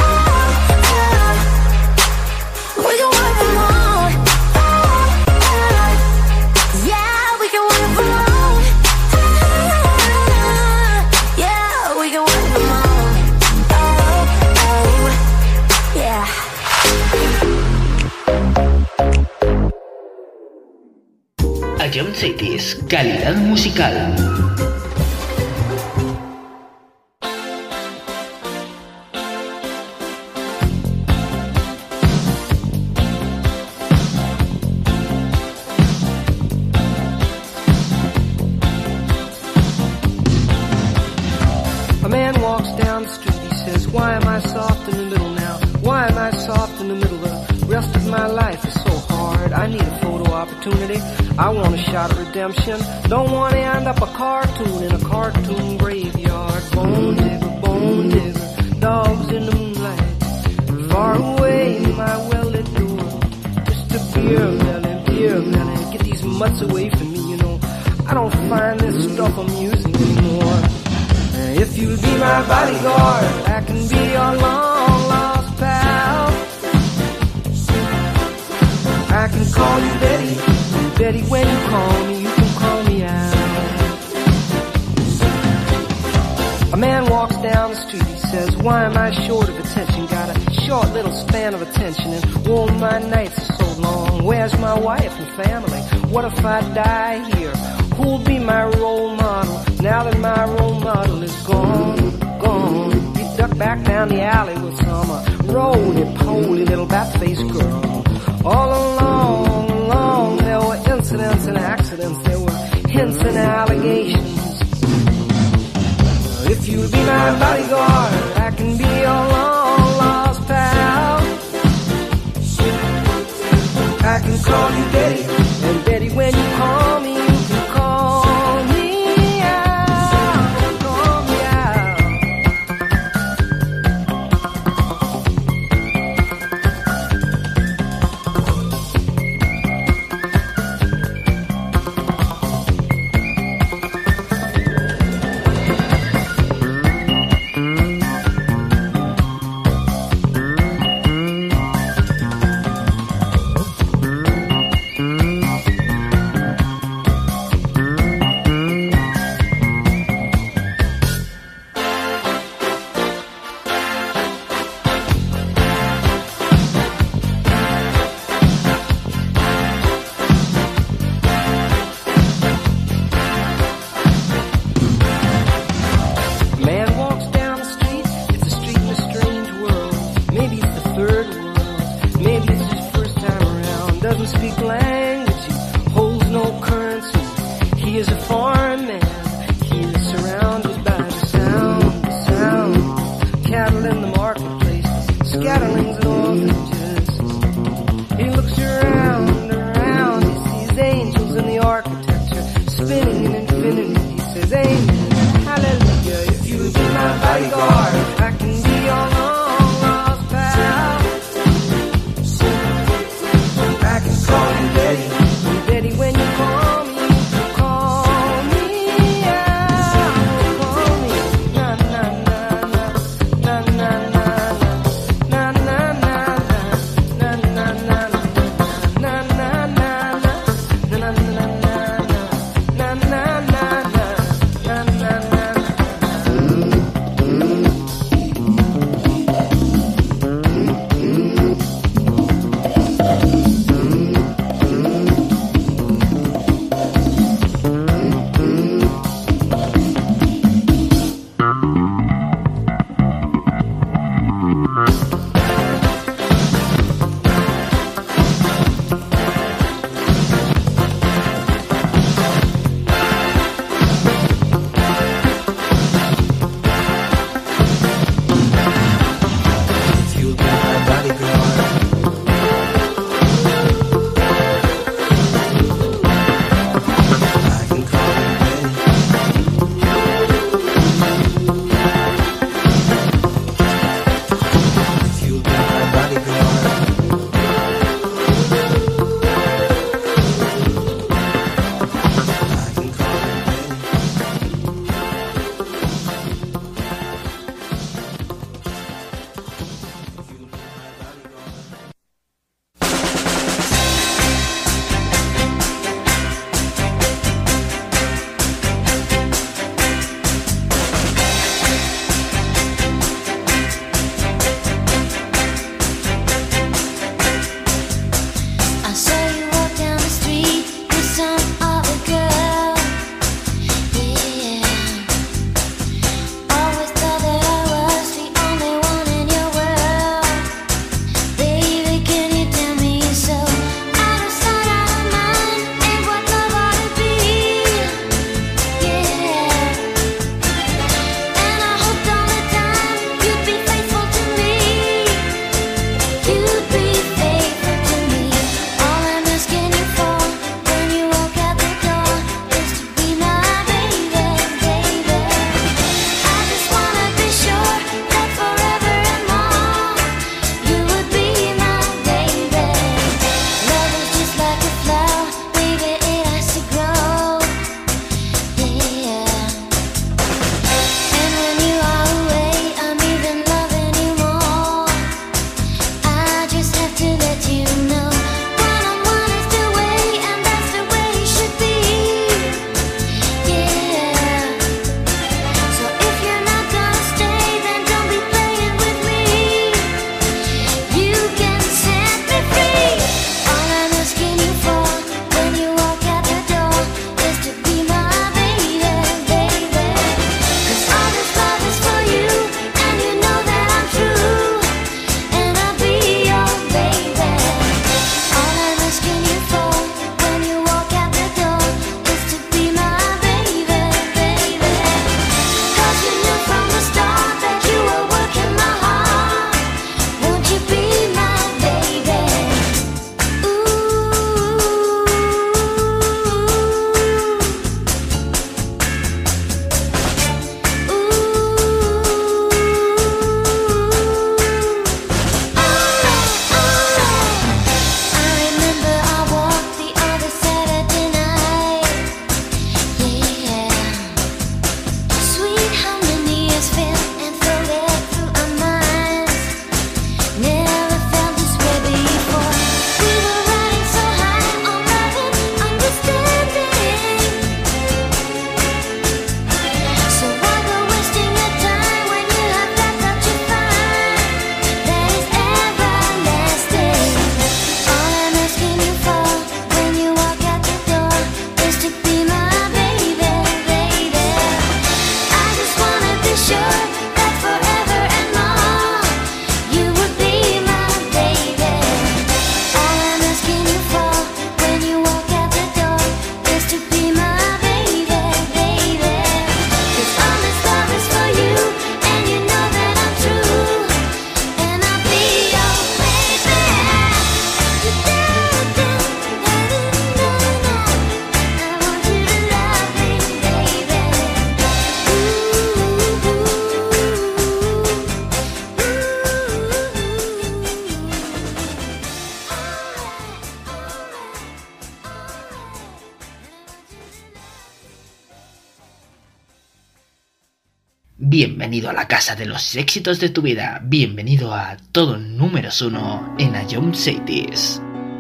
We can work from home. Yeah, we can work from home. Yeah, we can work from home. Oh, oh, yeah. Ion Cities, calidad musical. A man walks down the street, he says, why am I soft in the middle now? Why am I soft in the middle? The rest of my life is so hard. I need a photo opportunity. I want a shot at redemption. Don't want to end up a cartoon in a cartoon graveyard. Bone digger, bone digger, dogs in the moonlight. Far away, my well-lit door. Just a beer melon, beer melon. Get these mutts away from me, you know. I don't find this stuff amusing anymore. If you'll be my bodyguard, I can be your long lost pal. I can call you Betty, Betty when you call me, you can call me out. A man walks down the street, he says, why am I short of attention? Got a short little span of attention and oh my nights are so long. Where's my wife and family? What if I die here? Who'll be my role model now that my role model is gone, gone? You duck back down the alley with some uh, roly-poly little bat-faced girl. All along, along, there were incidents and accidents, there were hints and allegations. If you'll be my bodyguard, I can be your long-lost pal. I can call you Betty, and Betty when you call me, you can call me out, call me out. Bienvenido a la casa de los éxitos de tu vida. Bienvenido a todo números uno en A Young Cities.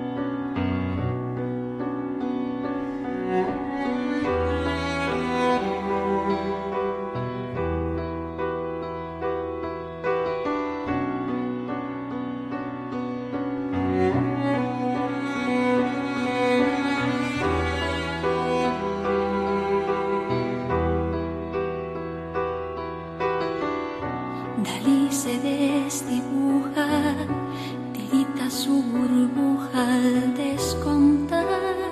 Dalí se desdibuja, tirita su burbuja al descontar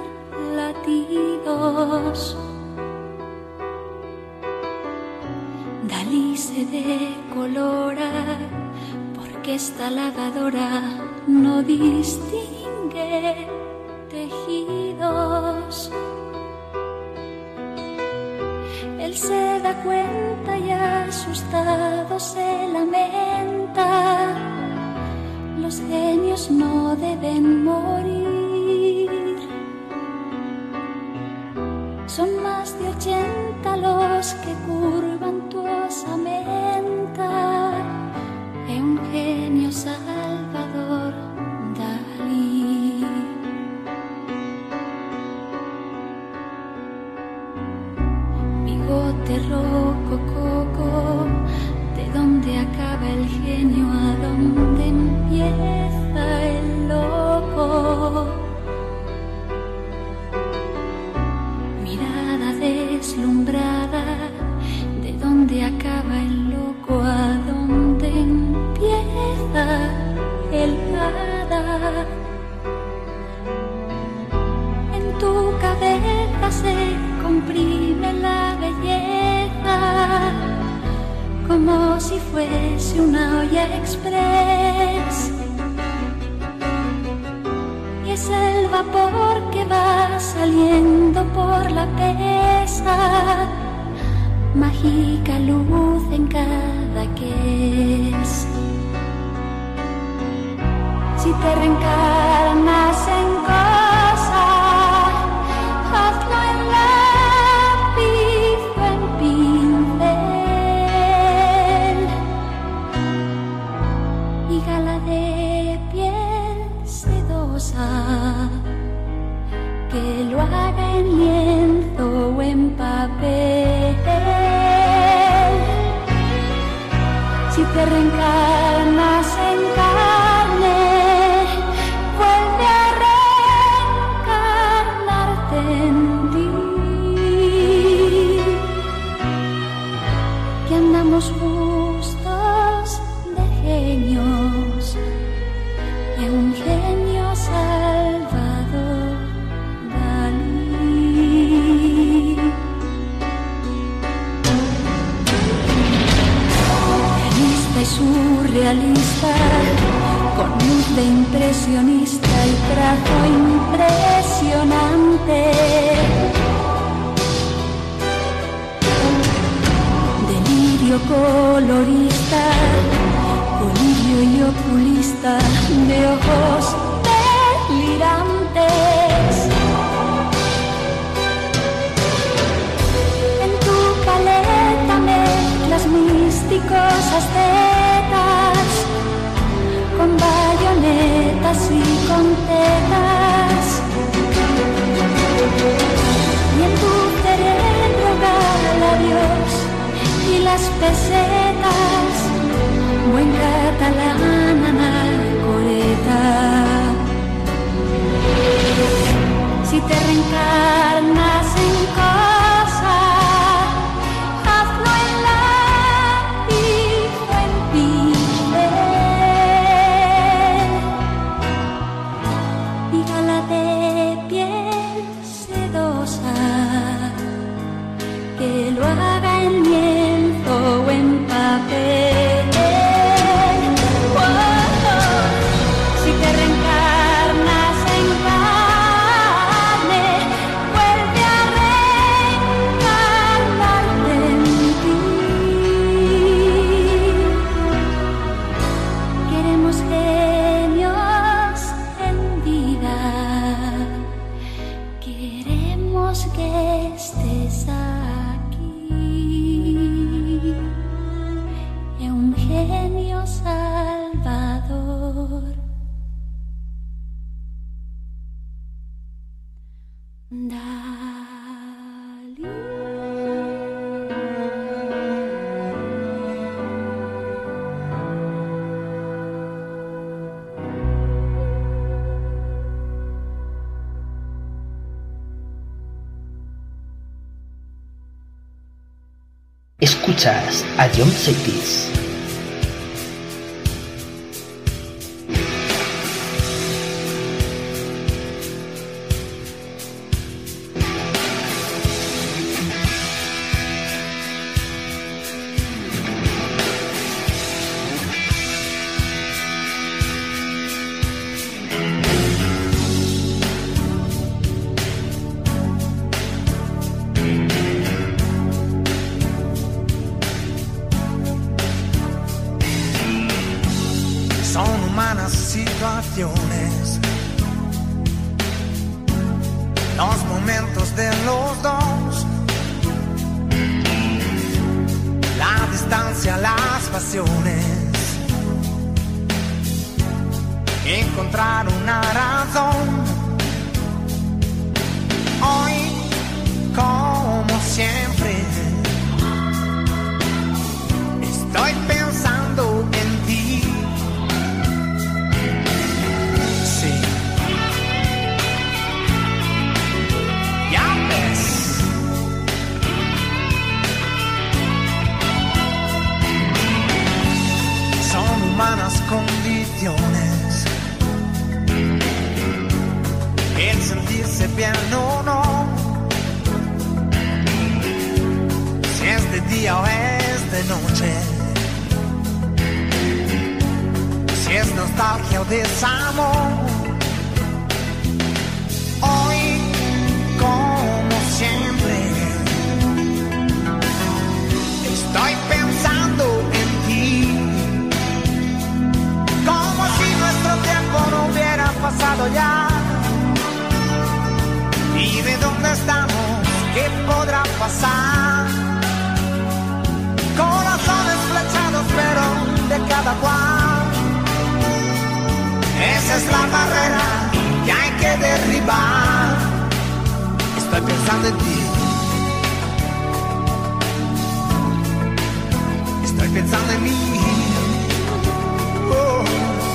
latidos. Dalí se decolora porque esta lavadora no distingue tejidos. Él se da cuenta y asustado se lamenta. Los genios no deben morir. Son más de ochenta los que curvan tu osamenta. Es un genio Salvador Dalí. Bigote rocococo, ¿de dónde acaba el genio? ¿A dónde empieza el loco? Mirada deslumbrada, ¿de dónde acaba el loco? ¿A dónde empieza el hada? En tu cabeza se comprime la belleza como si fuese una olla express, y es el vapor que va saliendo por la pesa, mágica luz en cada que es. Si te reencarnas en cosa, hazlo en lápiz o en pincel, y gala de piel sedosa, que lo haga en lienzo o en papel. Si te reencarnas en carne, vuelve a reencarnarte en ti, que andamos justos de genios, y un genio Salvador Dalí. Realista y surrealista, con luz de impresionista y trazo impresionante. Delirio colorista, colirio y oculista, de ojos delirantes. En tu paleta mezclas místicos ascetas, con bayonetas y con tetas, y en tu cerebro gala Dios y las pesetas, buen catalán anacoreta. Si te reencarnas en cosa, hazlo en lápiz o en pincel, y gala de piel sedosa, que lo haga en lienzo o en papel. Escuchas a John Cities. Situaciones, los momentos de los dos, la distancia, las pasiones, encontrar una razón. Hoy, como siempre, estoy pensando en ti. Humanas condiciones, el sentirse bien o no, si es de día o es de noche, si es nostalgia o desamor. Hoy, como siempre, estoy pensando en ti. Como si nuestro tiempo no hubiera pasado ya. Y de dónde estamos, qué podrá pasar. Corazones flechados, pero de cada cual. Esa es la barrera que hay que derribar. Estoy pensando en ti. Estoy pensando en mí. Oh.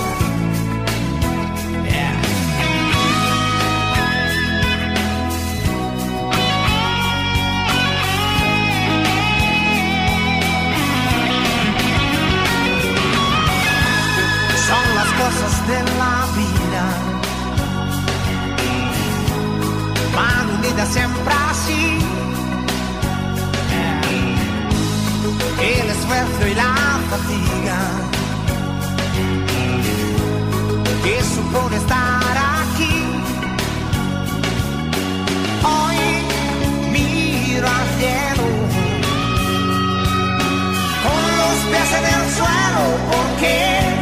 Cosas de la vida van unidas siempre así. El esfuerzo y la fatiga que supone estar aquí. Hoy miro al cielo con los pies en el suelo, porque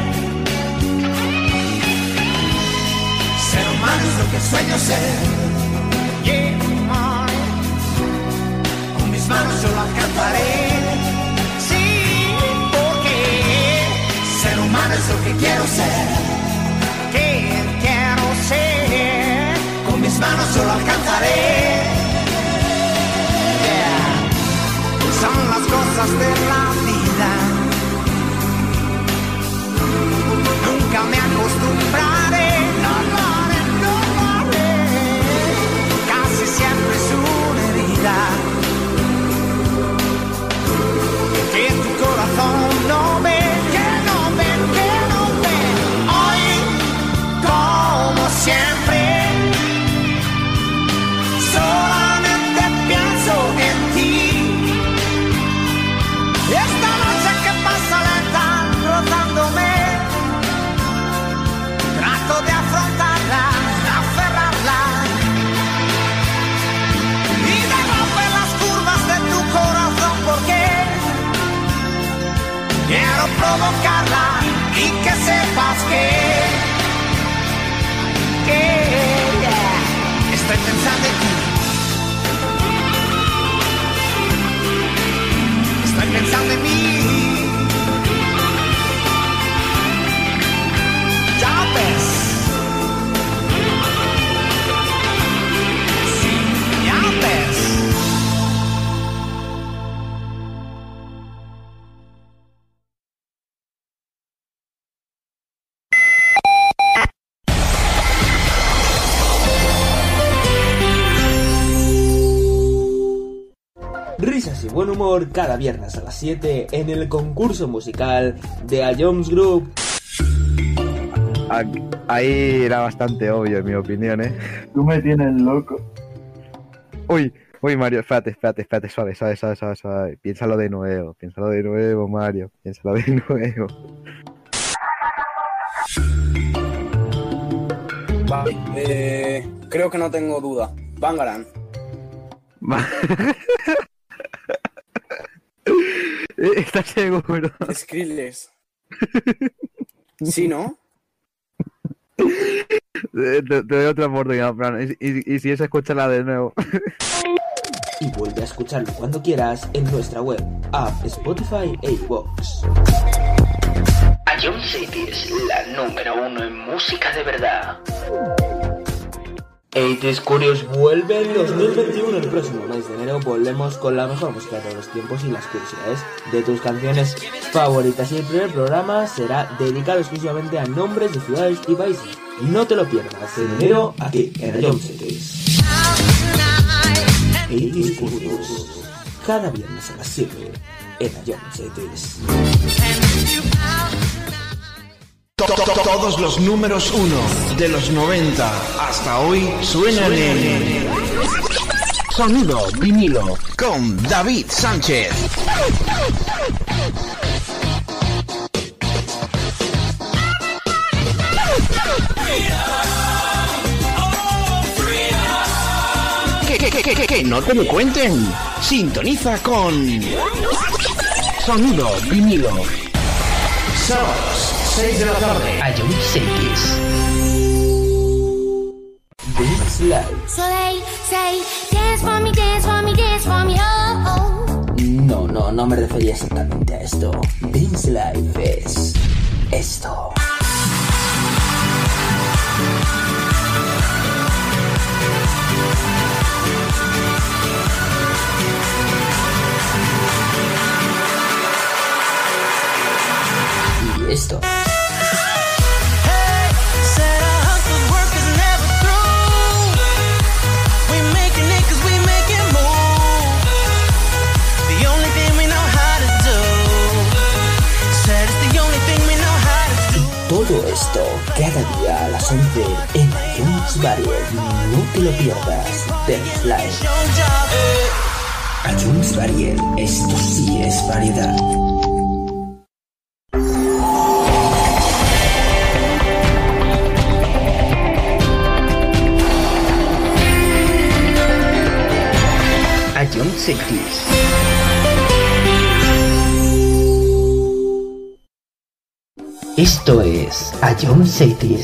ser humano es lo que sueño ser. Yeah, con mis manos yo lo alcanzaré. Sí, porque ser humano es lo que quiero ser. Que quiero ser. Con mis manos yo lo alcanzaré. Yeah. Son las cosas de la vida. Nunca me acostumbraré. No, no. Siempre es una herida que tu corazón no ve, que no ve, que no ve. Hoy, como siempre, solamente pienso en ti. Esta noche que pasa lenta, rozándome, trato de afrontarla, aferrarla. Quiero provocarla y que sepas que, que yeah, estoy pensando en ti. Estoy pensando en mí. Ya ves. Sí, ya ves. Risas y buen humor cada viernes a las siete en el concurso musical de A Jones Group. Ahí era bastante obvio, en mi opinión, ¿eh? Tú me tienes loco. Uy, uy, Mario, espérate, espérate, espérate, suave, suave, suave, suave, suave. Piénsalo de nuevo, piénsalo de nuevo, Mario, piénsalo de nuevo. Vale, eh, creo que no tengo duda. Bangarang. ¿Estás seguro? Skrillex. ¿Sí, no? Te, te doy otra oportunidad, Fran. Y, y, y si es, escúchala de nuevo. Y vuelve a escucharlo cuando quieras en nuestra web, app, Spotify e iVoox. A Jones City es la número uno en música de verdad. ochenta Curious vuelve en dos mil veintiuno. El próximo mes de enero volvemos con la mejor música de todos los tiempos y las curiosidades de tus canciones favoritas. Y el primer programa será dedicado exclusivamente a nombres de ciudades y países. No te lo pierdas en enero aquí en A Jones City. ochenta Curious, cada viernes a las siete en A Jones City. Todos los números uno de los noventa hasta hoy suenan en Sonido Vinilo con David Sánchez. Que, que, que, que, que no te lo cuenten. Sintoniza con Sonido Vinilo. Sábados, seis de la tarde. A Jones City. This Life. So they say, dance for me, dance for me, dance for me, oh, oh. No, no, no me refería exactamente a esto. This Life es esto. Y esto. Todo esto cada día a las once en A Jones Variet. No te lo pierdas. Dance Live. A Jones Variet. Esto sí es variedad. A Jones City. Esto es A Jones City.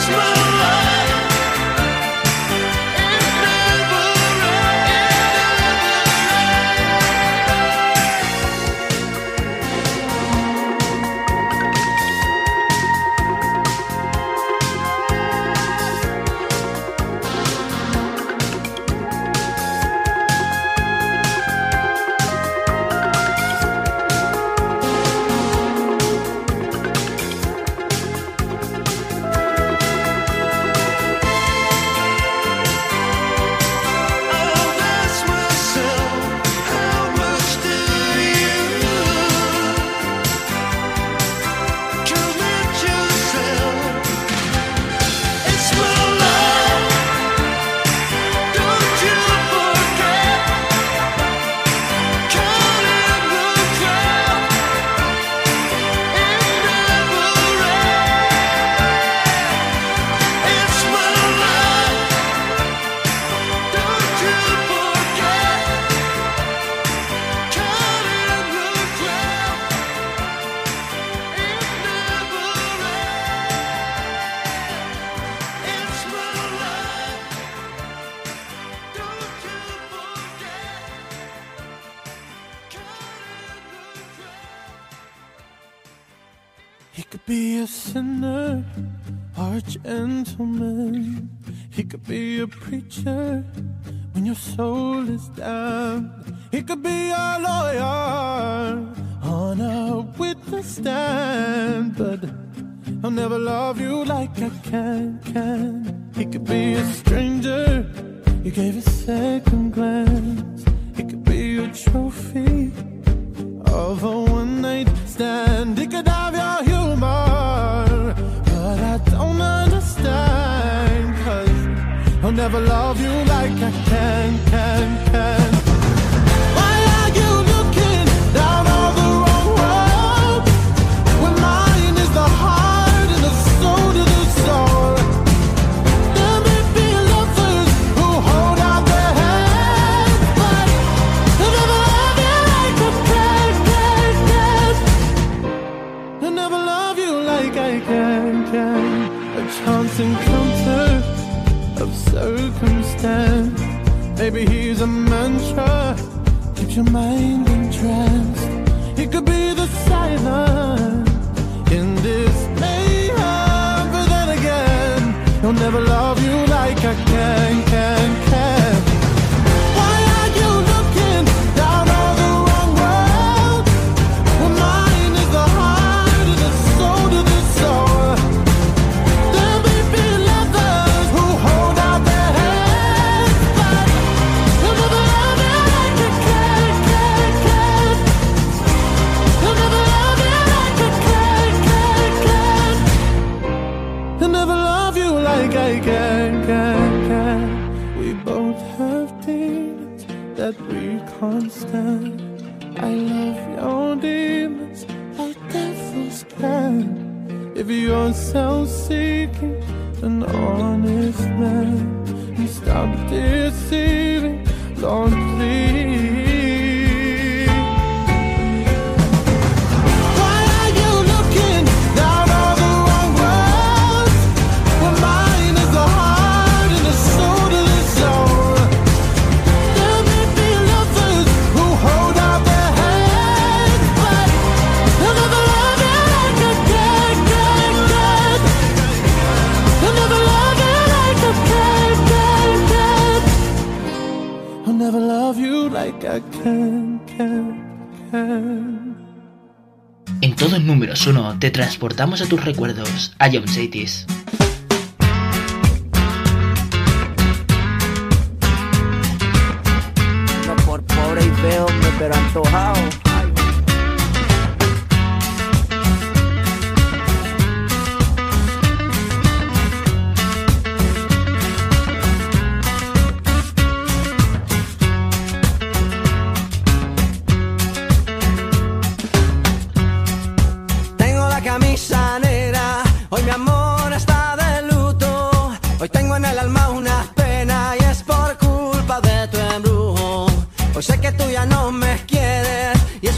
He could be a sinner or a gentleman. He could be a preacher when your soul is down. He could be a lawyer on a witness stand. But I'll never love you like I can, can. He could be a stranger you gave a second glance. He could be a trophy of a one-night stand. He could have your humor, but I don't understand, 'cause I'll never love you like I can, can, can. Why are you looking down all the wrong road when mine is the heart and the soul to the soul? There may be lovers who hold out their hands, but I'll never love you like I can, can, can. I'll never love you like I can, can. A chance encounter of circumstance. Maybe he's a mantra, keeps your mind entranced. He could be the silence in this mayhem, but then again, he'll never love you like I can, can, can. Why are you looking down all the wrong road when mine is the heart and the soul to the soul? There may be lovers who hold out their hands, but he'll never love you like I can, can, can. He'll never love you like I can, can, can. He'll never love you like I can, can, can. We both have demons that we can't stand. I love your demons like devils can. If you're self-seeking, an honest man, and stop deceiving, Lord, please. Why are you looking down all the wrong roads when mine is the heart and the soul to the soul? There may be lovers who hold out their hands, but they'll never love you like I can, can, can. They'll never love you like I can, can, can. I'll never love you like I can, can, can. En todo números uno te transportamos a tus recuerdos, a John Satis. No por pobre y feo, hombre, pero antojado. Tengo la camisa negra, hoy mi amor está de luto. Hoy tengo en el alma una pena y es por culpa de tu embrujo. Hoy sé que tú ya no me quieres y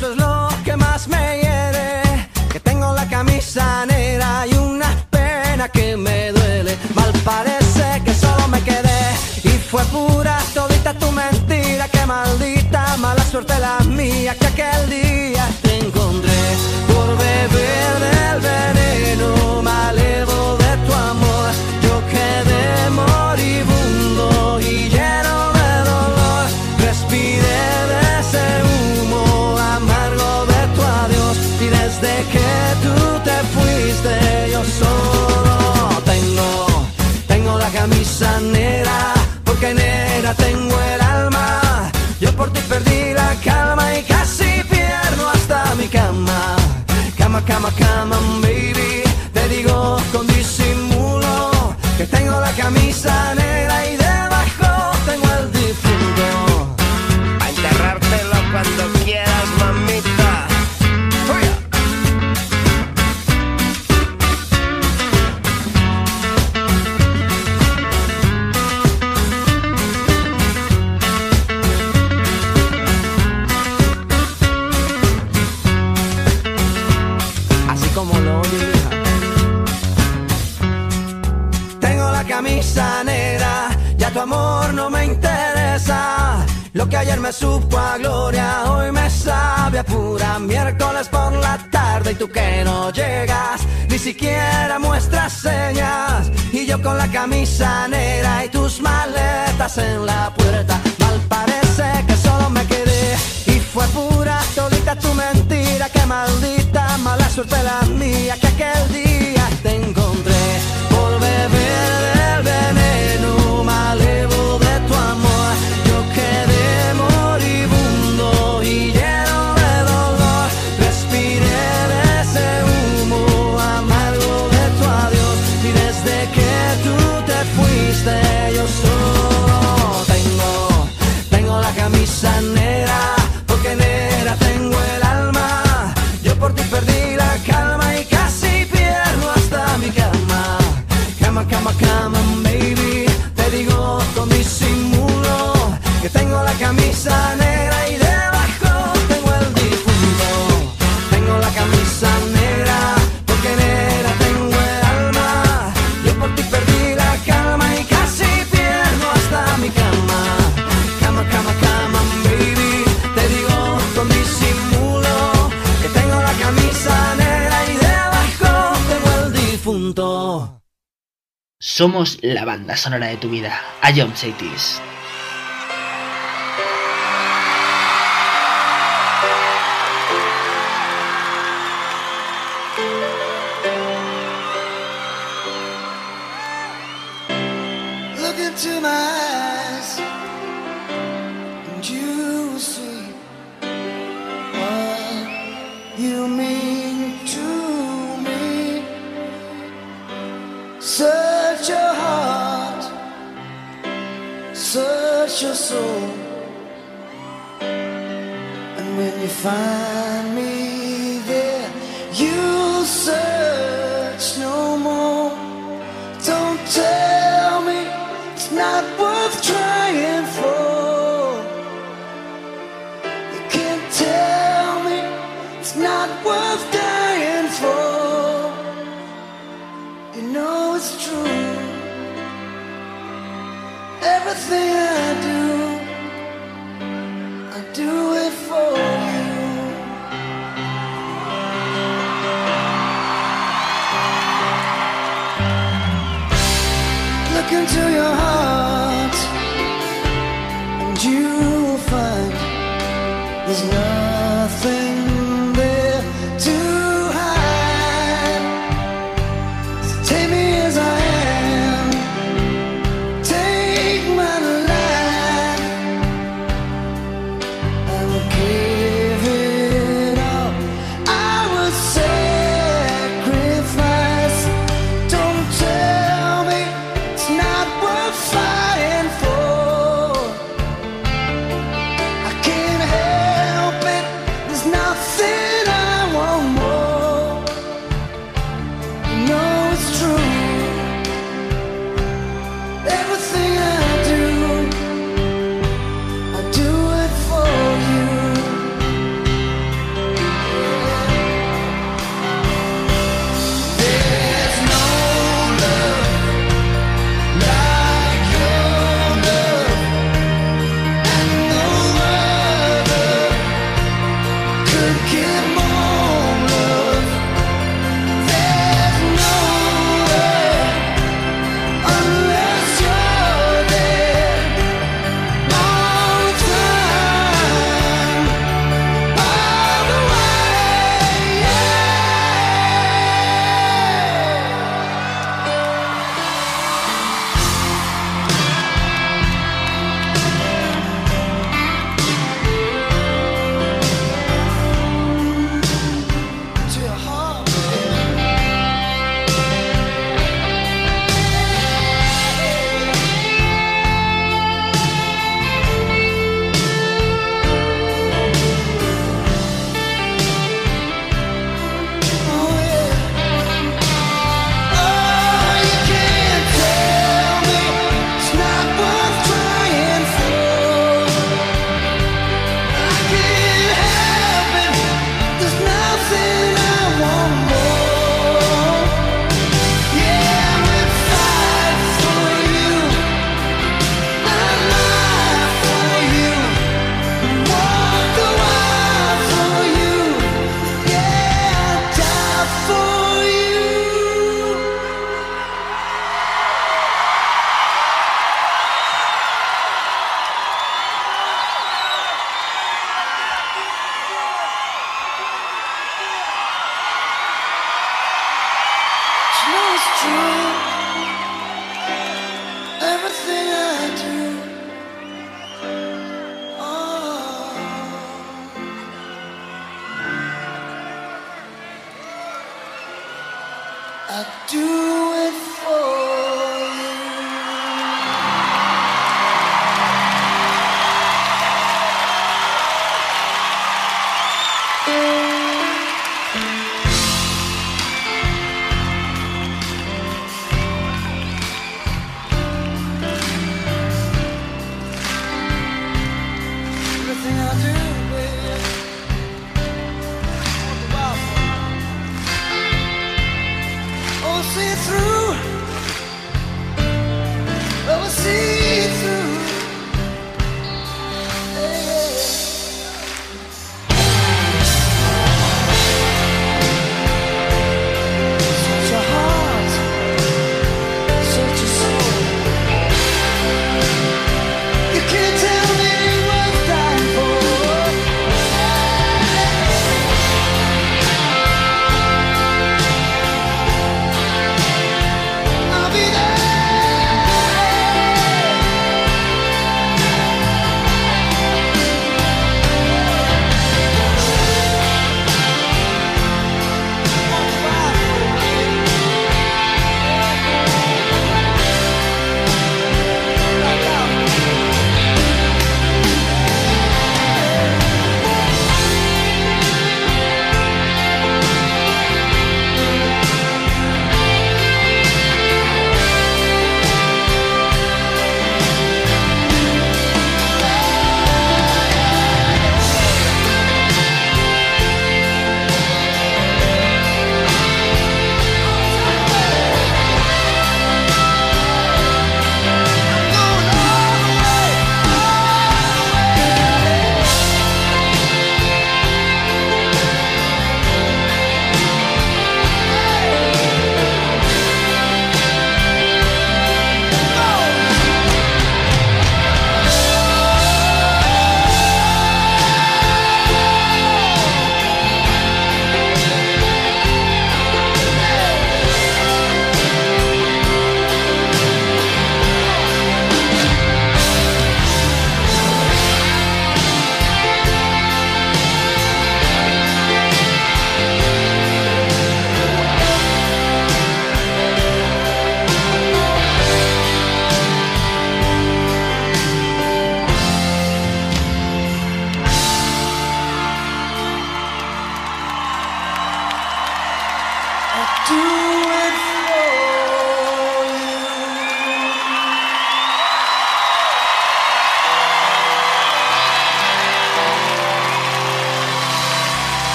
suerte la mía que aquel día te encontré. Por beber del veneno me alevo de tu amor. Yo quedé moribundo y lleno de dolor. Respiré de ese humo amargo de tu adiós. Y desde que tú te fuiste yo solo tengo, tengo la camisa negra. Porque negra tengo el alma. Yo por ti perdí la calma y casi pierdo hasta mi cama. Cama, cama, cama, baby. Te digo con disimulo que tengo la camisa negra y debajo tengo el difunto. A enterrártelo cuando quieras, mamita. ¡Fuera! Como lo oye, hija. Tengo la camisa negra, ya tu amor no me interesa. Lo que ayer me supo a gloria, hoy me sabe a pura. Miércoles por la tarde y tú que no llegas, ni siquiera muestras señas. Y yo con la camisa negra y tus maletas en la puerta. Mal parece que solo me quedé y fue pura todita tu mentira. Qué maldita mala suerte la mía que aquel día te encontré. Por beber del veneno me alevo de tu amor. Yo quedé moribundo y lleno de dolor. Respiré de ese humo amargo de tu adiós. Y desde que tú te fuiste yo solo tengo, tengo la camisa negra. Porque negra tengo el alma. Yo por ti perdí la calma y casi pierdo hasta mi cama. Cama, cama, cama, baby. Te digo con disimulo que tengo la camisa negra y debajo tengo el difunto. Tengo la camisa negra porque negra tengo el alma. Yo por ti perdí la calma y casi pierdo hasta mi cama. Cama, cama, cama, baby. Te digo con disimulo que tengo la camisa negra y debajo tengo el difunto. Somos la banda sonora de tu vida. A John Chaitis. Look into my eyes and you will see what you mean to me. Search your heart, search your soul, and when you find me there, you'll search no more. Don't tell me it's not worth trying for. You can't tell me it's not worth dying for. You know it's true. Everything I do, I do it for you. Look into your heart and you'll find there's nothing there to hide. So take me as I am, take my life. I will give it up, I will sacrifice. Don't tell me it's not worth fighting for. I can't help it, there's nothing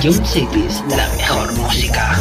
Ion Cities, la mejor música.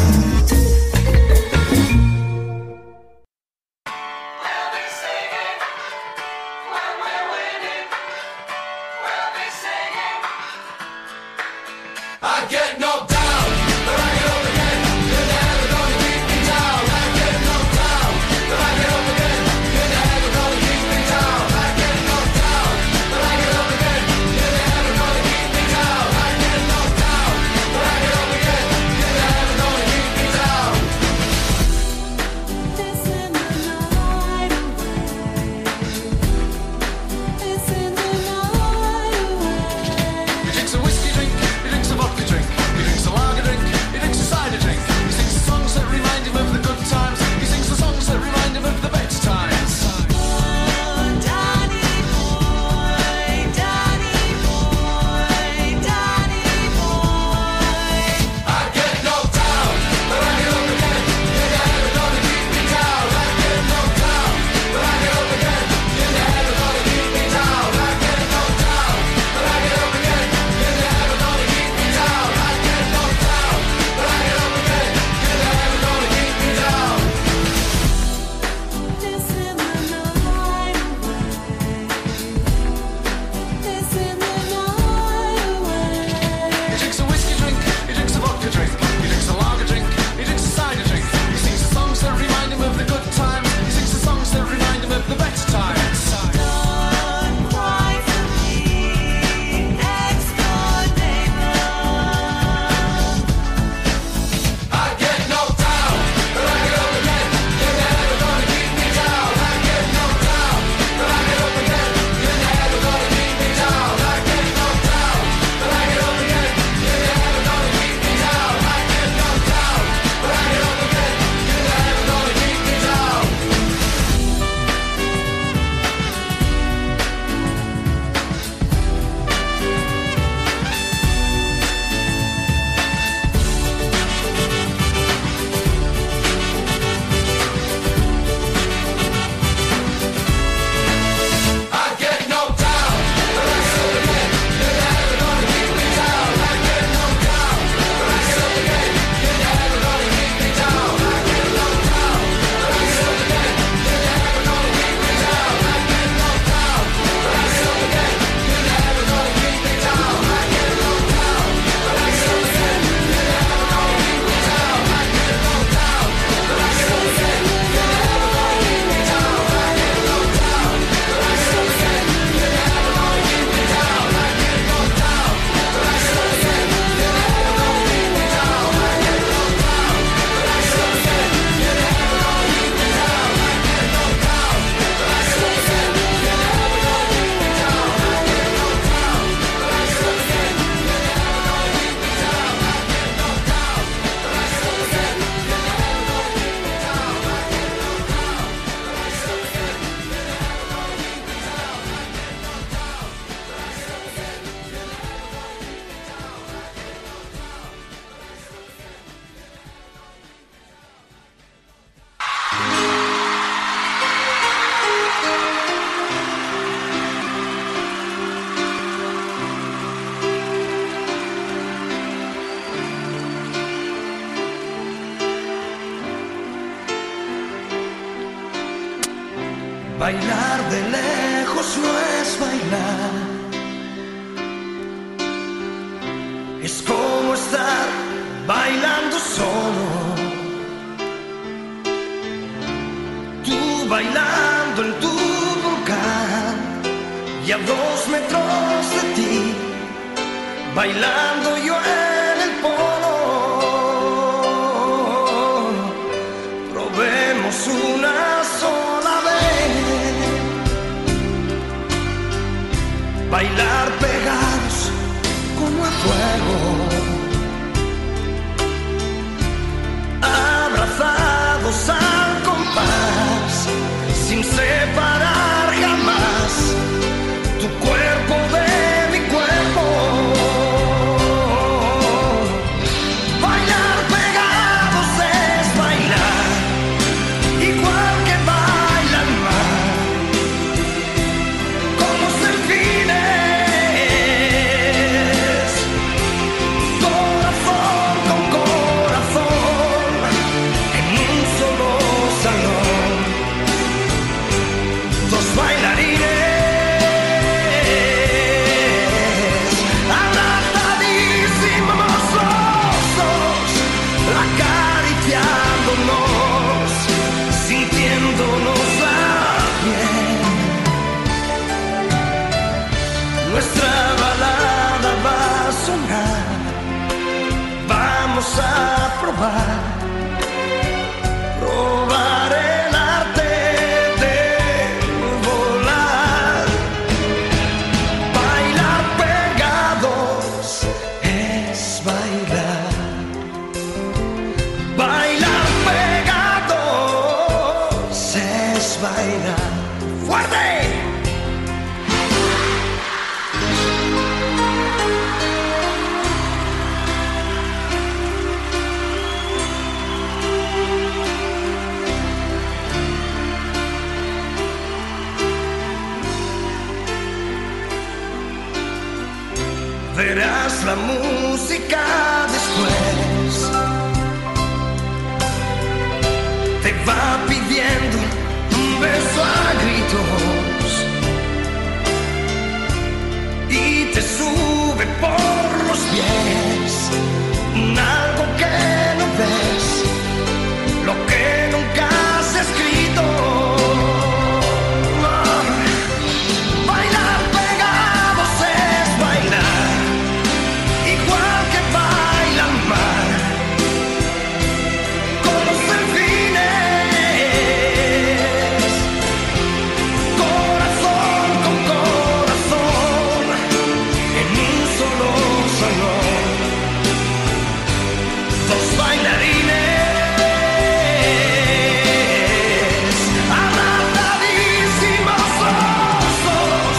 Bailar de lejos no es bailar, es como estar bailando solo. Tú bailando en tu volcán y a dos metros de ti, bailando yo en el polo. Probemos una sola vez bailar pegados como a fuego, abrazados al compás, sin separar jamás tu cuerpo de mi cuerpo. Bailar pegados es bailar, igual que baila el mar, como delfines, corazón. es bailar fuerte. Verás la música después, te va pidiendo un beso a gritos y te sube por los pies, algo que no ves, lo que nunca has escrito. Bailar pegados es bailar, igual que baila el mar, con los delfines, corazón con corazón, en un solo salón, dos bailarines, abrazadísimos los dos,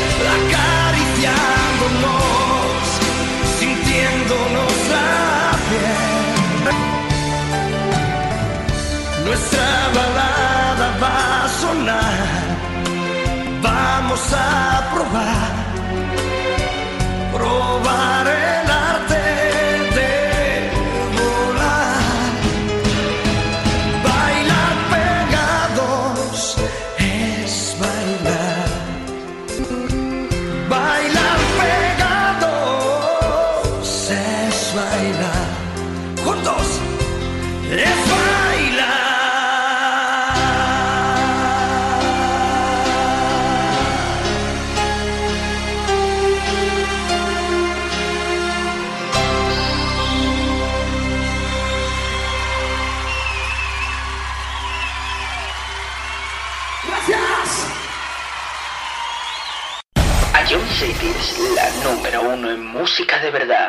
acariciándonos, sintiéndonos la piel. Nuestra balada va a sonar, vamos a probar, probar el arte de volar. Bailar pegados es bailar, bailar pegados es bailar, juntos es bailar. Gracias. Ion Cities, la número uno en música de verdad.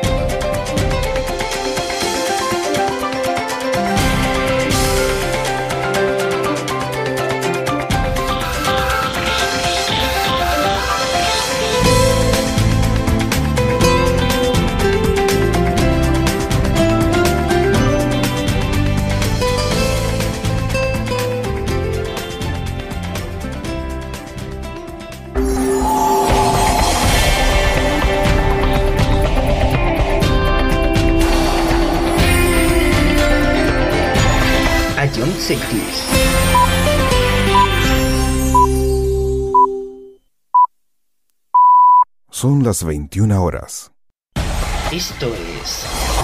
Ion Cities. Son las veintiuna horas. Esto es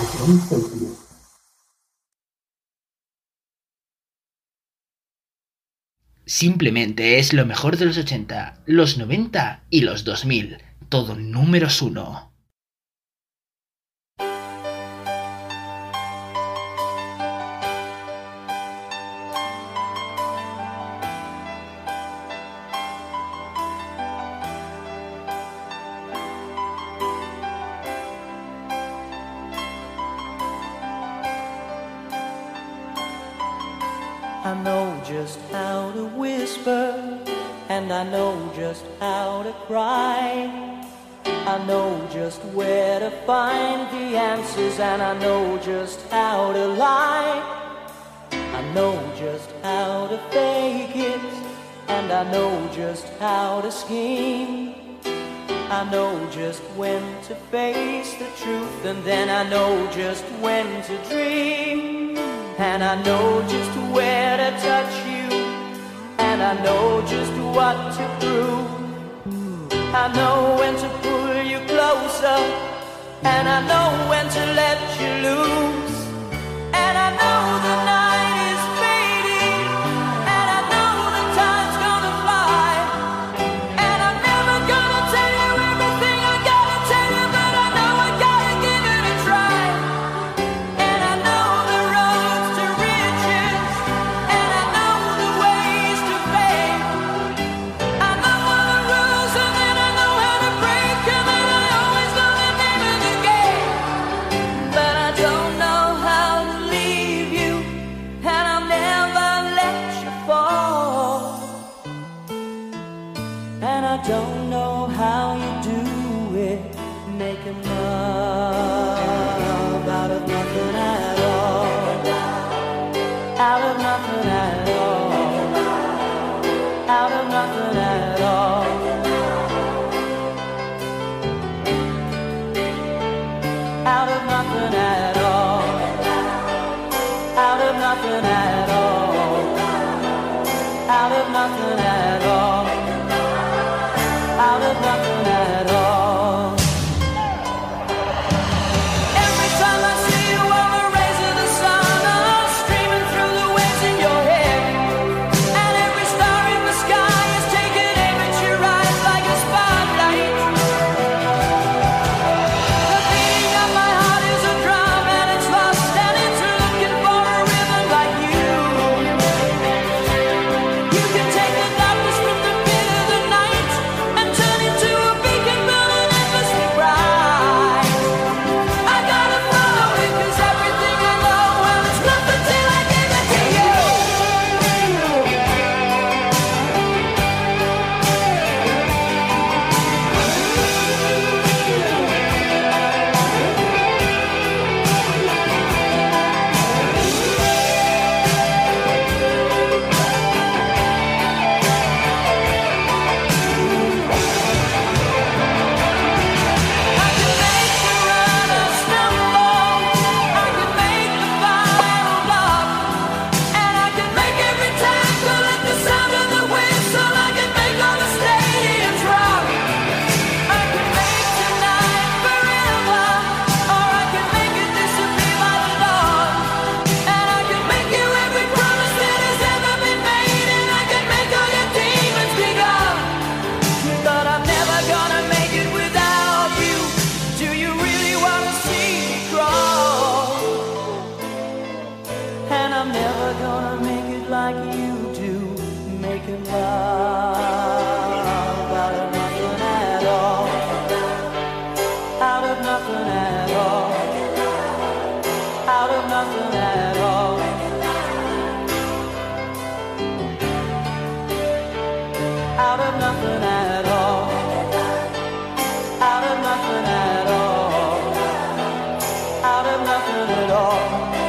simplemente es lo mejor de los ochenta, los noventa y los dos mil. Todo números uno. I know just how to whisper, and I know just how to cry. I know just where to find the answers, and I know just how to lie. I know just how to fake it, and I know just how to scheme. I know just when to face the truth, and then I know just when to dream. And I know just where to touch you, and I know just what to prove. I know when to pull you closer, and I know when to let you loose. And I know the night is fading, and I know the time's gonna fly. And I'm never gonna tell you everything I gotta tell you, but I know I gotta give it a try. And I know the roads to riches, and I know the ways to fame. I know all the rules, and then I know how to break them, and I always know the name of the game. But I don't know how to leave you, I don't know how you do it, making love out of nothing at all, out of nothing at all, out of nothing at all, out of nothing at all, out of nothing at all, out of nothing at all, out of nothing at all. Every time I see you on the rays of the sun, I'm streaming through the waves in your head, and every star in the sky is taking aim at your eyes like a spotlight. The beating of my heart is a drum, and it's lost, and it's looking for a rhythm like you. You can take the darkness from the pit of the night and turn it to a beacon burning endlessly bright. I gotta follow it, 'cause everything I know, well, it's nothing till I give it to you. I can make the runner stumble, I can make the fire love, and I can make every tackle at the sound of the whistle. I can make all the stadiums rock. I can make tonight forever, or I can make it disappear by the dawn. And I can make you every promise that has ever been made, and I can make all your demons be gone. But I'm never gonna make it without you. Do you really wanna see me crawl? And I'm never gonna make it like you do, making love out of nothing at all, out of nothing at all, out of nothing at all, out of nothing at all, out of nothing at all, out of nothing at all.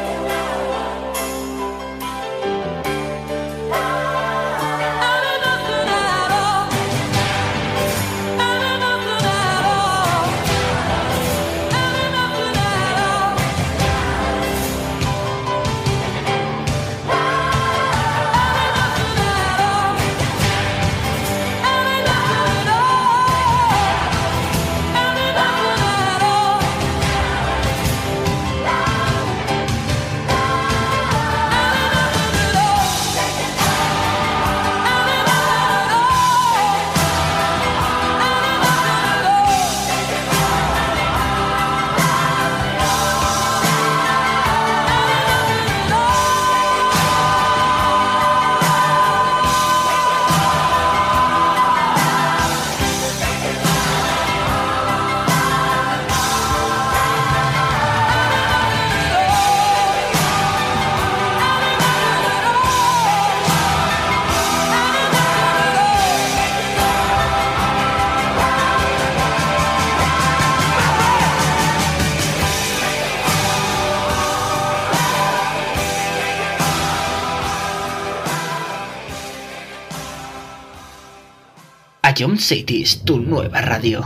Ion Cities, tu nueva radio.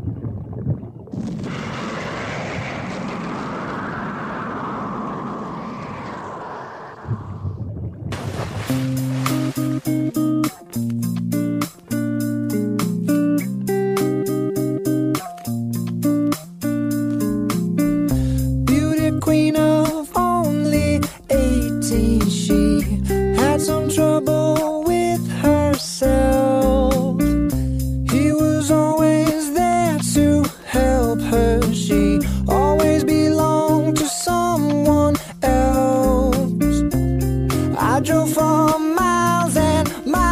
Beauty queen of only eighteen, she had some trouble with herself. He was always there to help her. She always belonged to someone else. I drove for miles and miles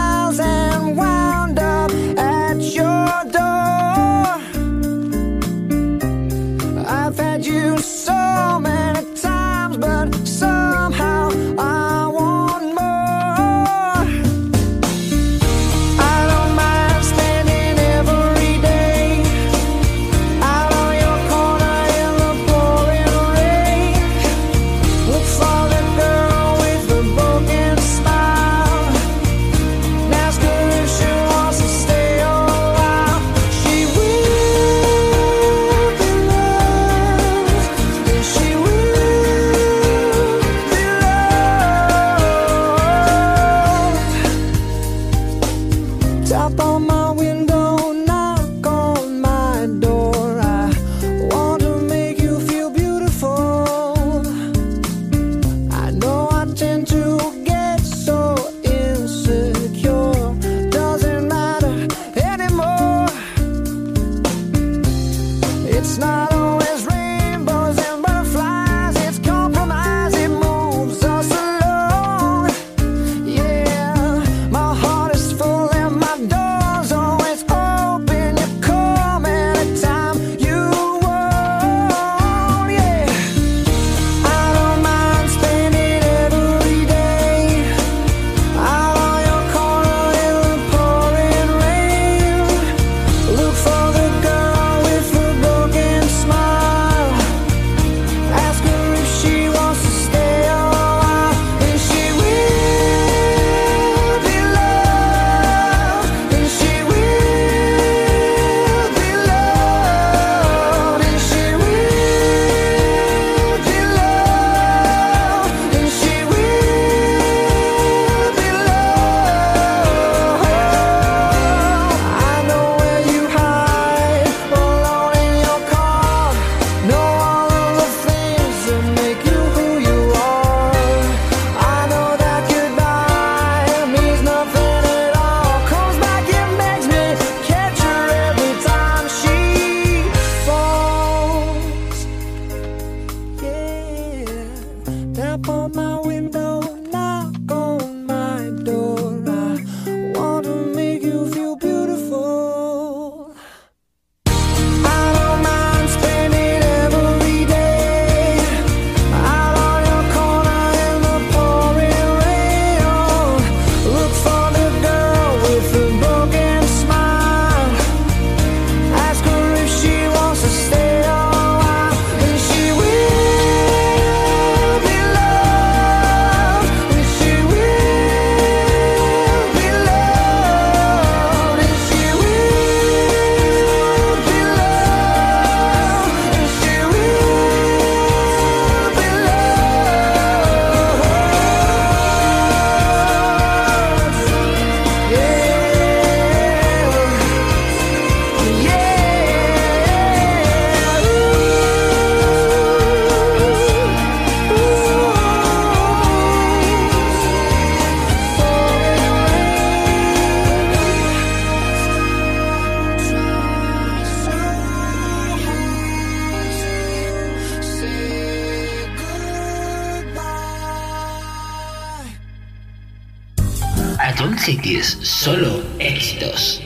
Hitters, solo éxitos.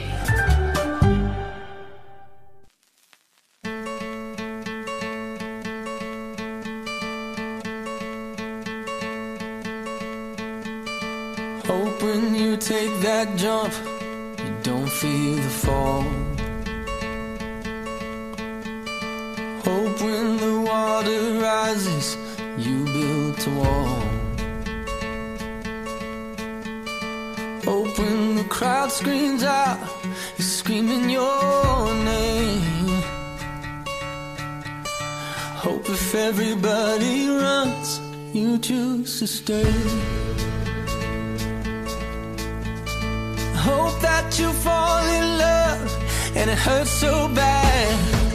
Hope when you take that jump, you don't feel the fall. Hope when the water rises, you build a wall. Hope when the crowd screams out, you're screaming your name. Hope if everybody runs, you choose to stay. Hope that you fall in love and it hurts so bad.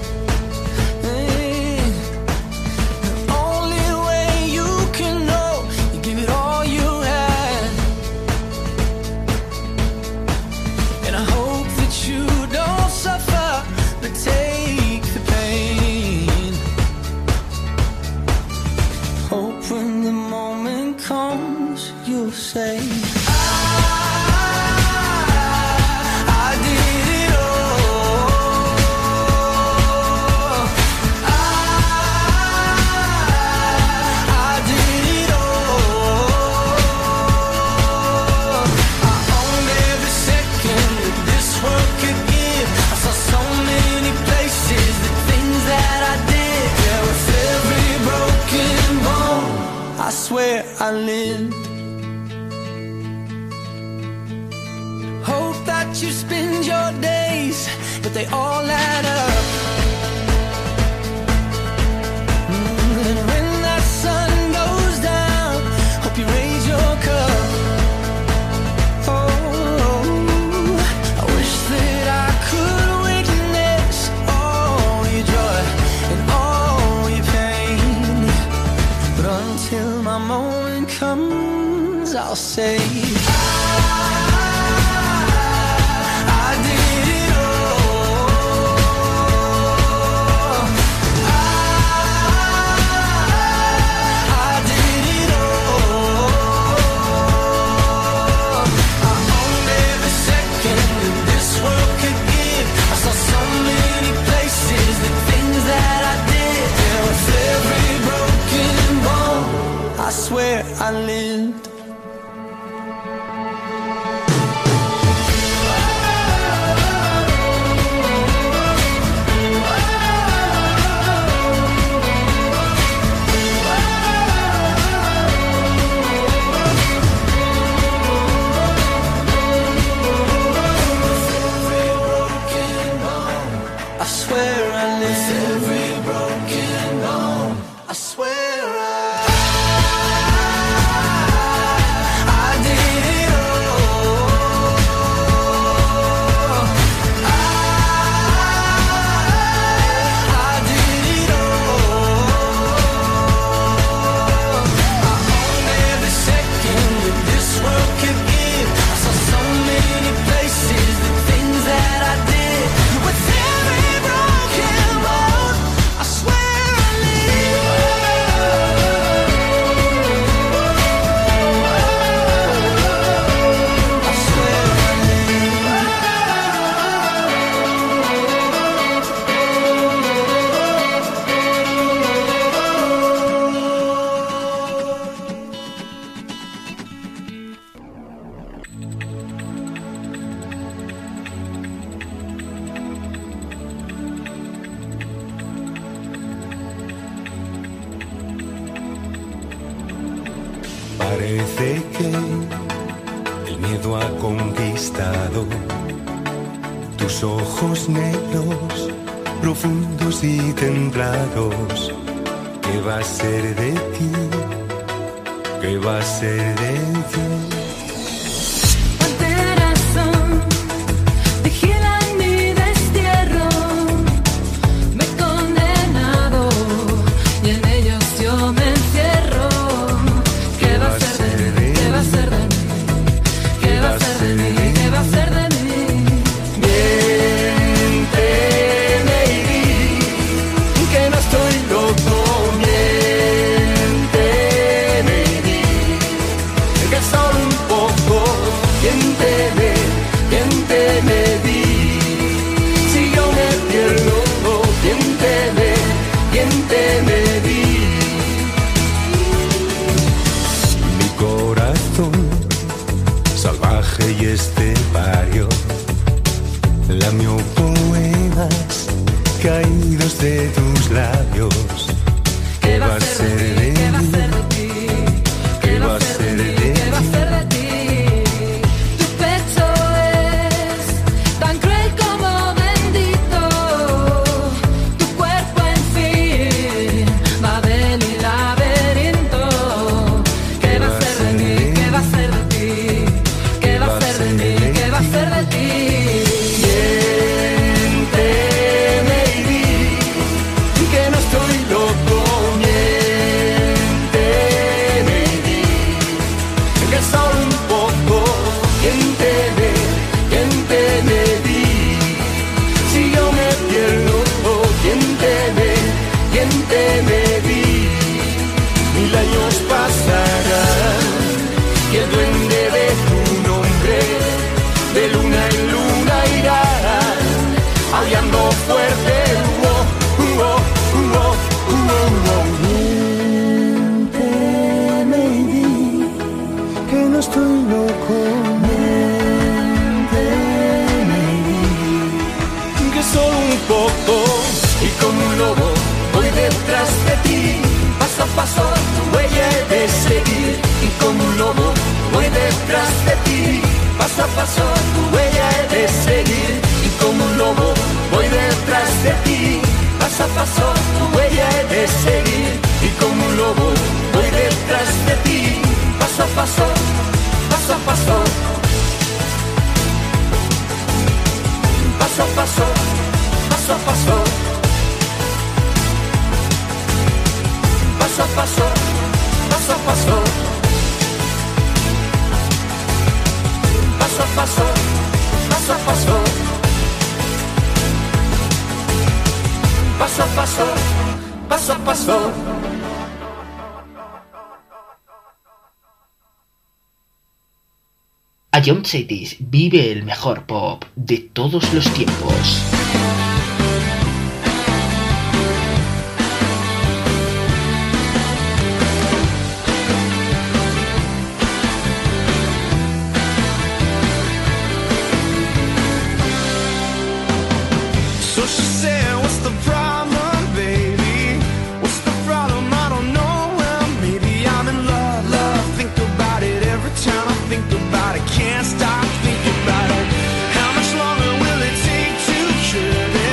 Hey, the only way you can know, you give it all you had. And I hope that you don't suffer, but take the pain. Hope when the moment comes, you'll say, I swear I lived. Hope that you spend your days, but they all add up. Mm, and when that sun goes down, hope you raise your cup. Oh, I wish that I could witness all your joy and all your pain, but until my moment comes, I'll say I swear I lived. I swear I lived. Every broken bone. I swear I Parece que el miedo ha conquistado tus ojos negros, profundos y templados. ¿Qué va a ser de ti? ¿Qué va a ser de ti? Solo lamió poemas caídos de tus labios. ¿Qué va a ser de ti? ¿Qué va a ser de ti? ¿Qué va a ser de ti? Tu pecho es tan cruel como bendito. Tu cuerpo, en fin, Babel y laberinto. ¿Qué va a ser de mí? ¿Qué va a ser de ti? ¿Qué va a ser de mí? ¿Qué va a ser de ti? Miénteme y di que no estoy loco. Miénteme y di que solo un poco. Miénteme, miénteme, di si yo me pierdo. Miénteme, miénteme, di mil años pasarán y el duende de tu nombre de luna en luna irá aullando fuerte. Uh, uh, uh, uh, uh, uh. Miénteme y di que no estoy loco. Miénteme y di que solo un poco y como un lobo voy detrás de ti. Paso a paso tu huella he de seguir y como un lobo voy detrás de ti. Paso a paso tu huella he de seguir y como un lobo voy detrás de ti. Paso a paso tu huella he de seguir y como un lobo voy detrás de ti. Paso a paso, paso a paso, paso a paso, paso a paso, paso a paso, paso a paso. Paso a paso, paso a paso, paso a paso, paso a paso. Ion Cities vive el mejor pop de todos los tiempos. So she said, what's the problem, baby? What's the problem? I don't know. Well, maybe I'm in love, love. Think about it every time I think about it. Can't stop thinking about it. How much longer will it take to cure this?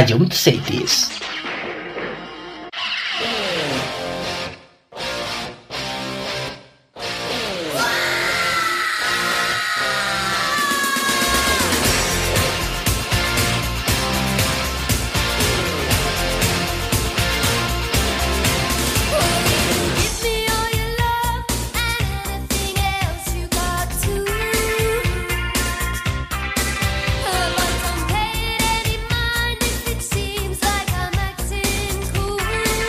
Ion Cities. Seems like I'm acting cool.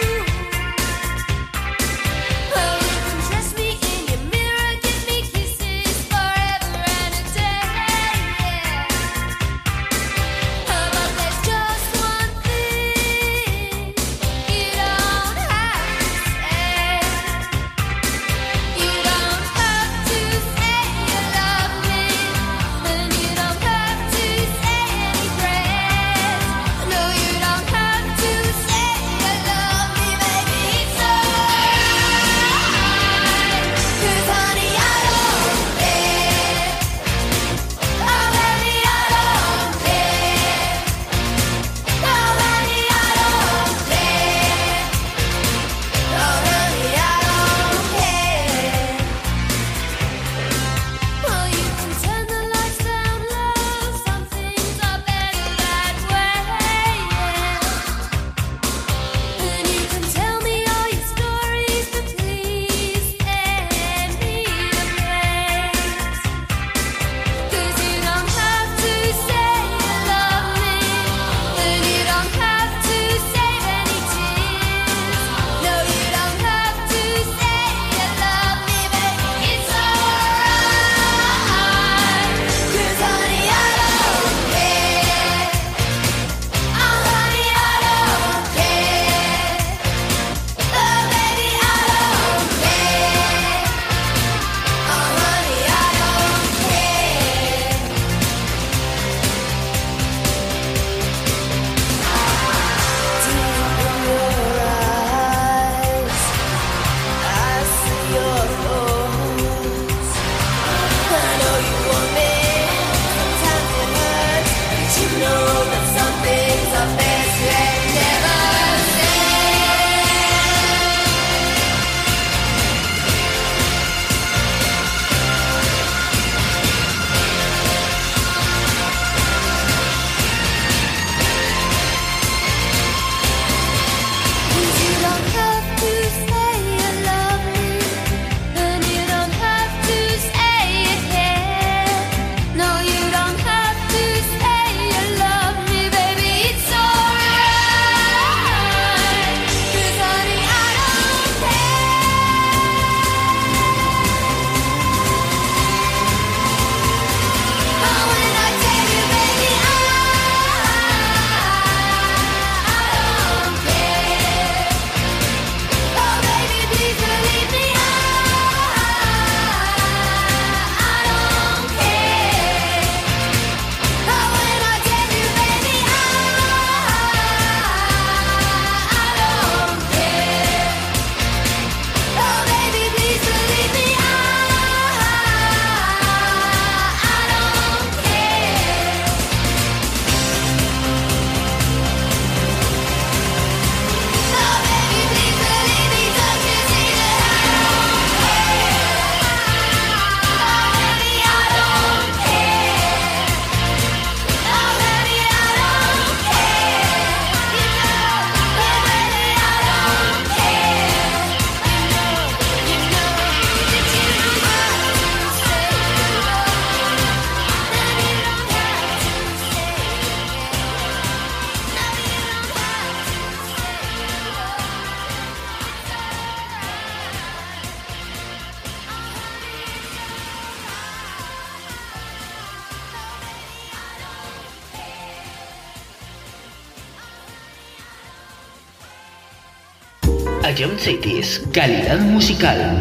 Ion Cities, calidad musical.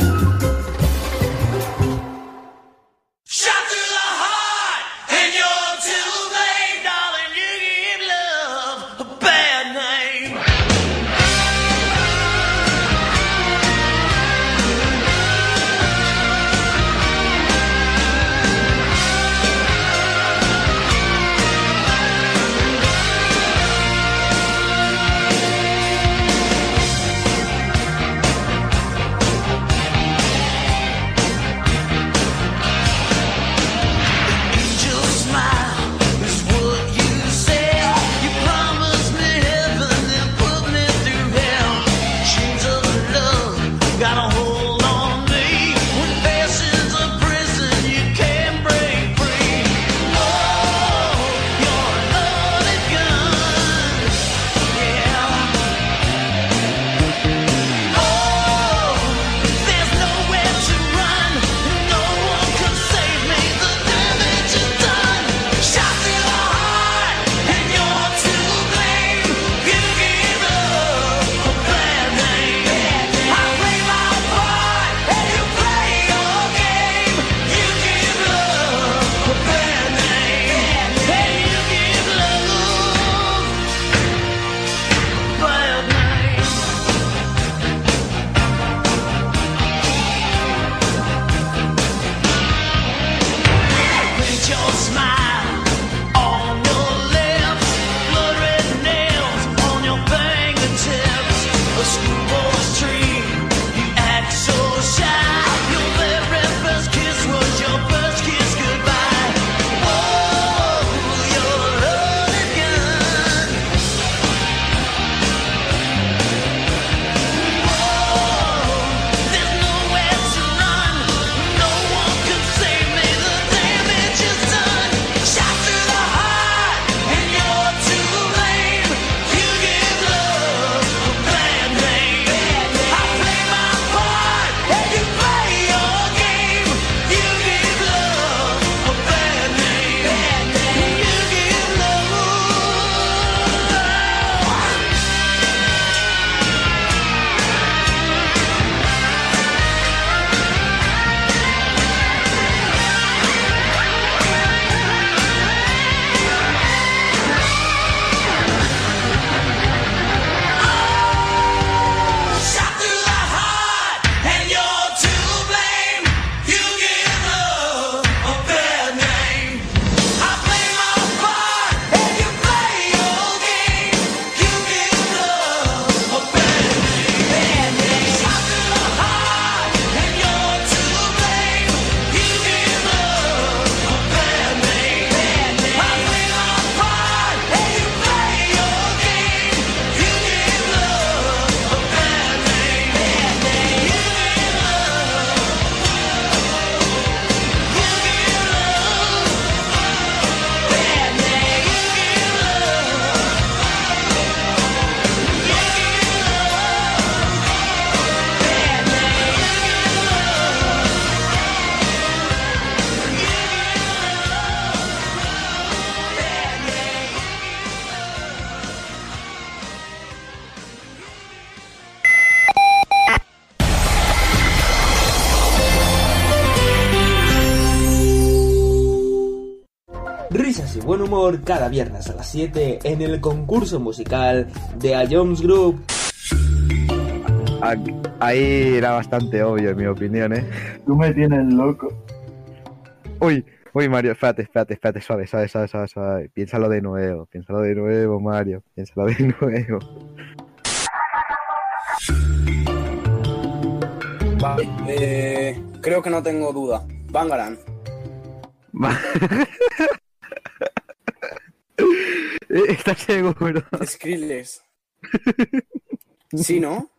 buen humor cada viernes a las siete en el concurso musical de A Jones Group. Ahí era bastante obvio, en mi opinión, ¿eh? Tú me tienes loco. Uy, uy, Mario, espérate, espérate, espérate, suave, suave, suave, suave, suave. Piénsalo de nuevo, piénsalo de nuevo, Mario, piénsalo de nuevo. Vale, eh, creo que no tengo duda. Bangarang. ¿Estás seguro? Skrillex. ¿Sí, no?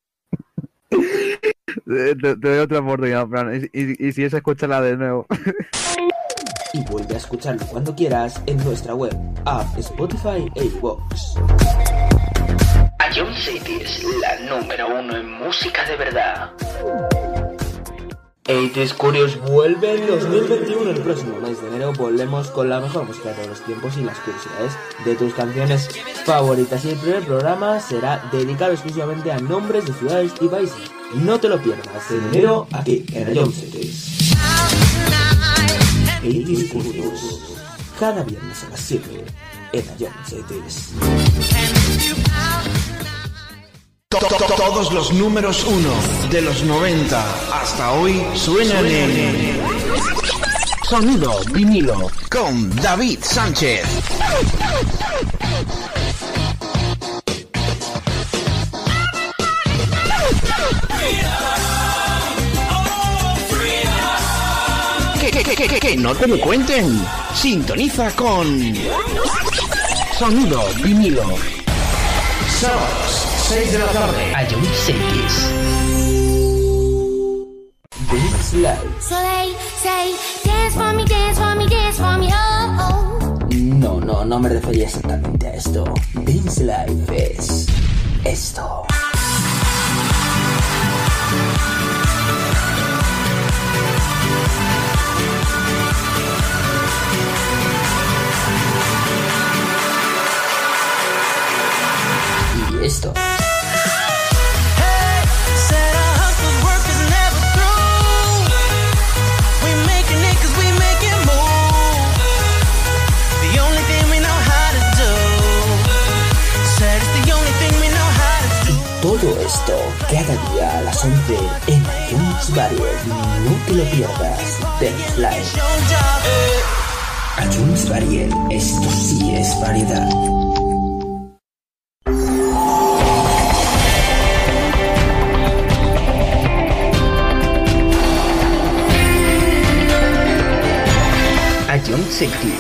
Te, te doy otra oportunidad, Fran. Y, y, y si es, escúchala de nuevo. Y vuelve a escucharlo cuando quieras en nuestra web, app, Spotify e iVoox. A Jones City es la número uno en música de verdad. ochenta Curious vuelve en dos mil veintiuno. El próximo mes de enero volvemos con la mejor música de todos los tiempos y las curiosidades de tus canciones favoritas. Y el primer programa será dedicado exclusivamente a nombres de ciudades y países. No te lo pierdas en enero aquí en A Jones City. ochenta Curious, cada viernes a las siete en A Jones City. Todos los números uno de los noventa hasta hoy suenan en Sonido Vinilo con David Sánchez. Que, que, que, que, que no te lo cuenten. Sintoniza con Sonido Vinilo. Sábados, seis de la tarde. A Jones City. This Life. So they say, dance for me, dance for me, dance for me, oh, oh. No, no, no me refería exactamente a esto. This Life es esto. Y esto. Todo esto cada día a las once en A Jones Variety. No te lo pierdas. Dance Live. A Jones Variety. Esto sí es variedad. A Jones City.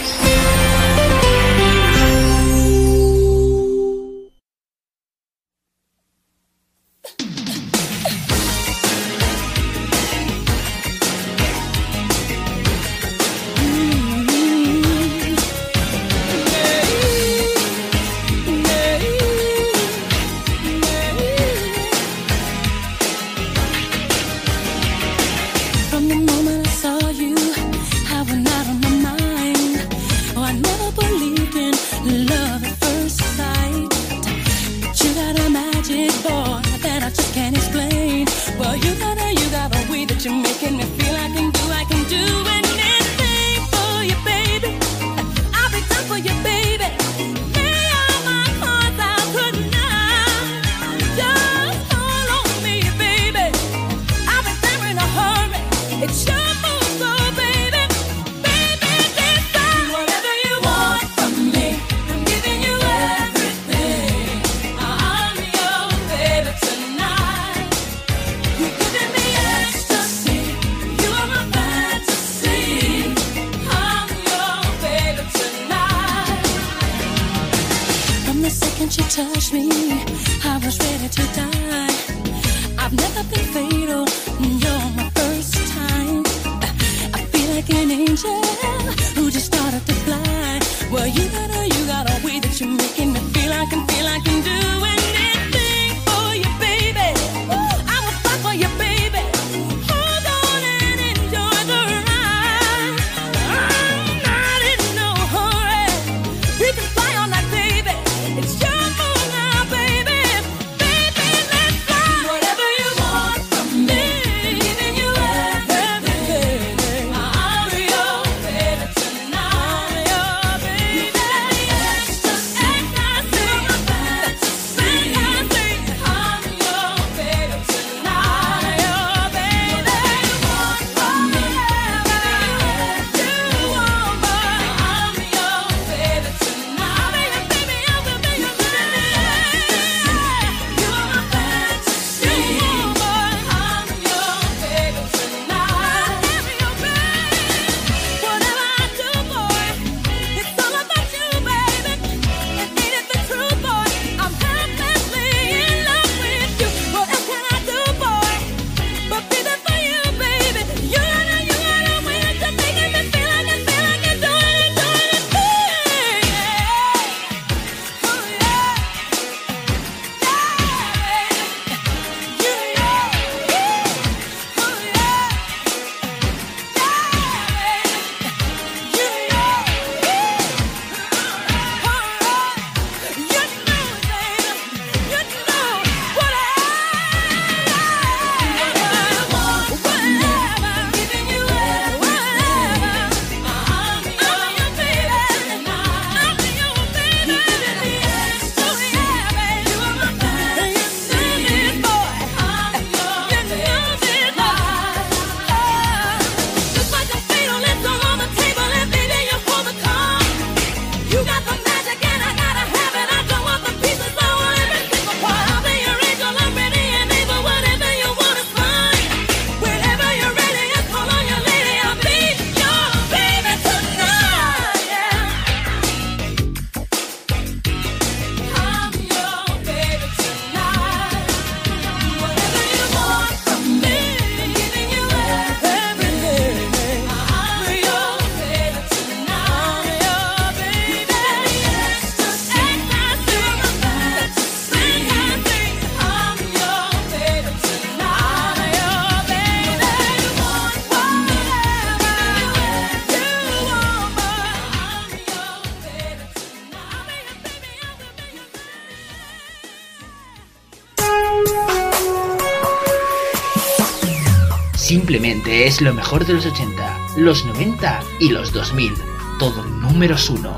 Simplemente es lo mejor de los ochenta, los noventa y los dos mil. Todo números uno.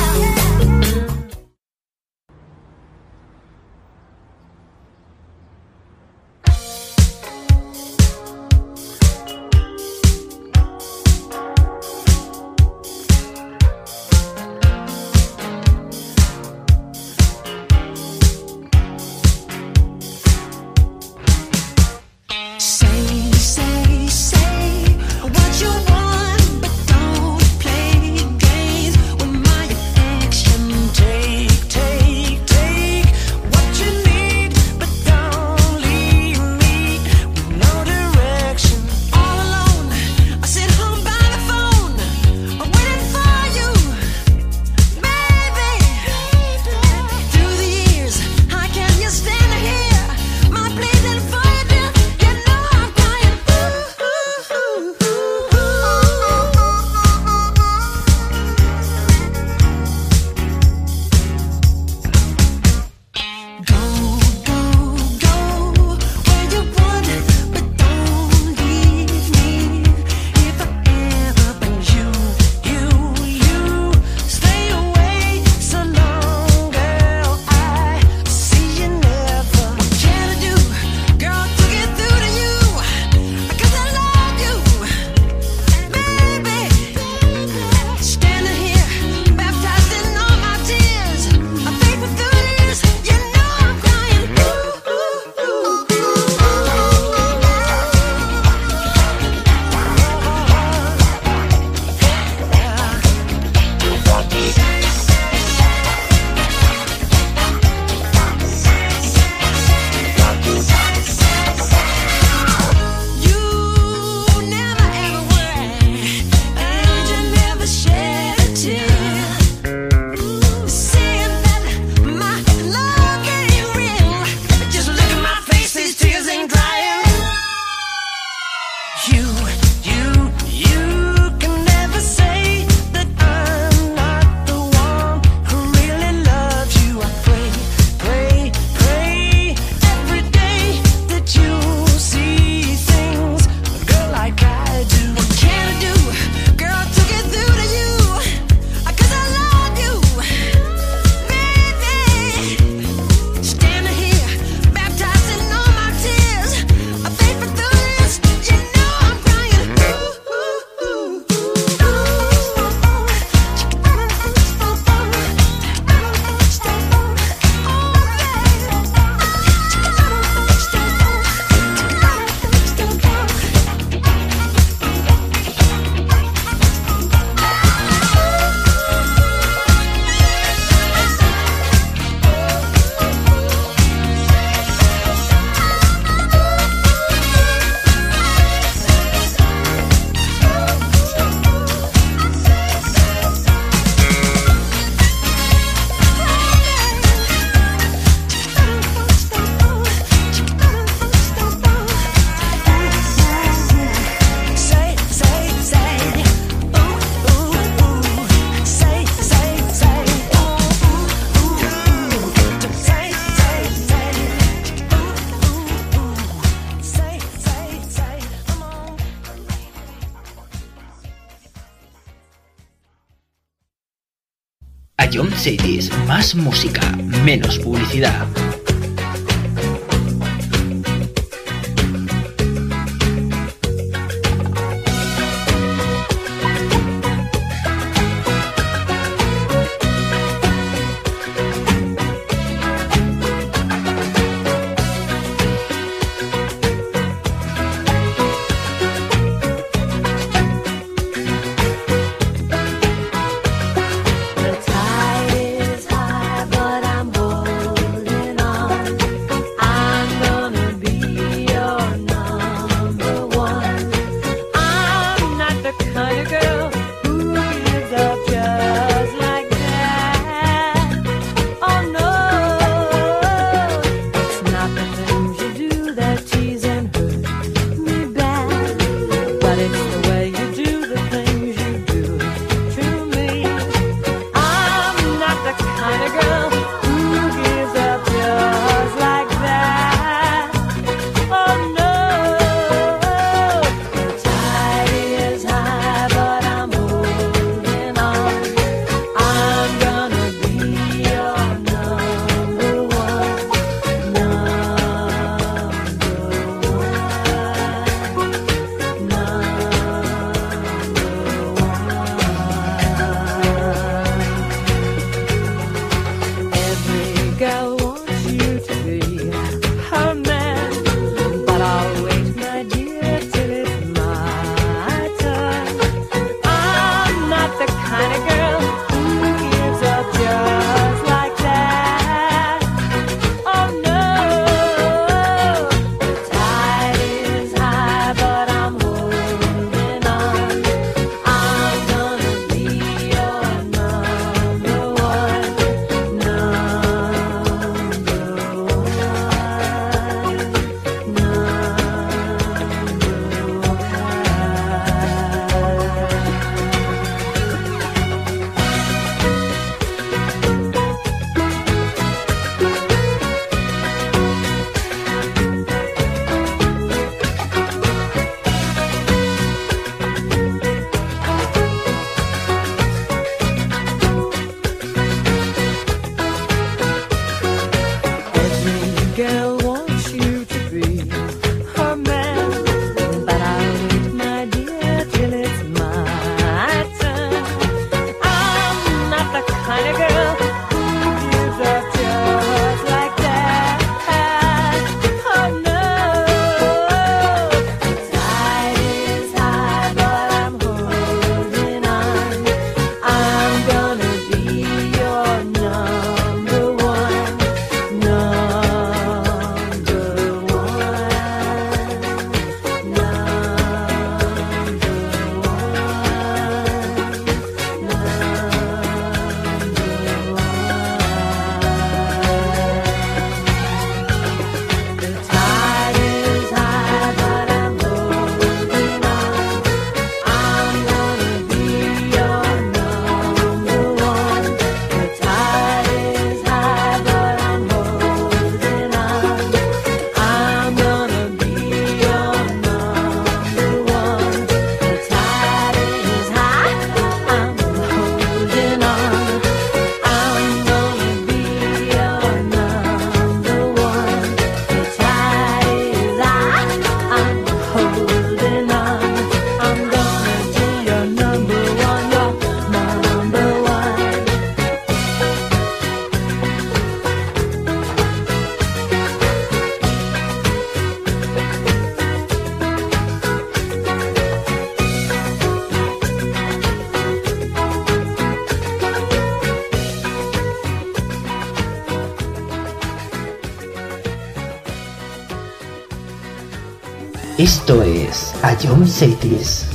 Ion Cities, más música, menos publicidad. The tide is high, but I'm holding on. Esto es A Young Cities.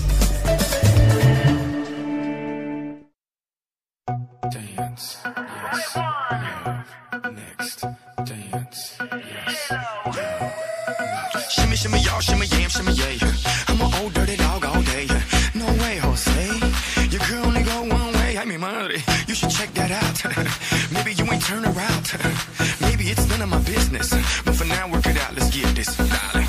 Shimmy, shimmy, y'all, shimmy, yam, shimmy, yeah. I'm an old dirty dog all day. No way, Jose. Your girl only go one way. I mean, madre, you should check that out. Maybe you ain't turn around. Maybe it's none of my business. But for now, work it out. Let's get this, darling.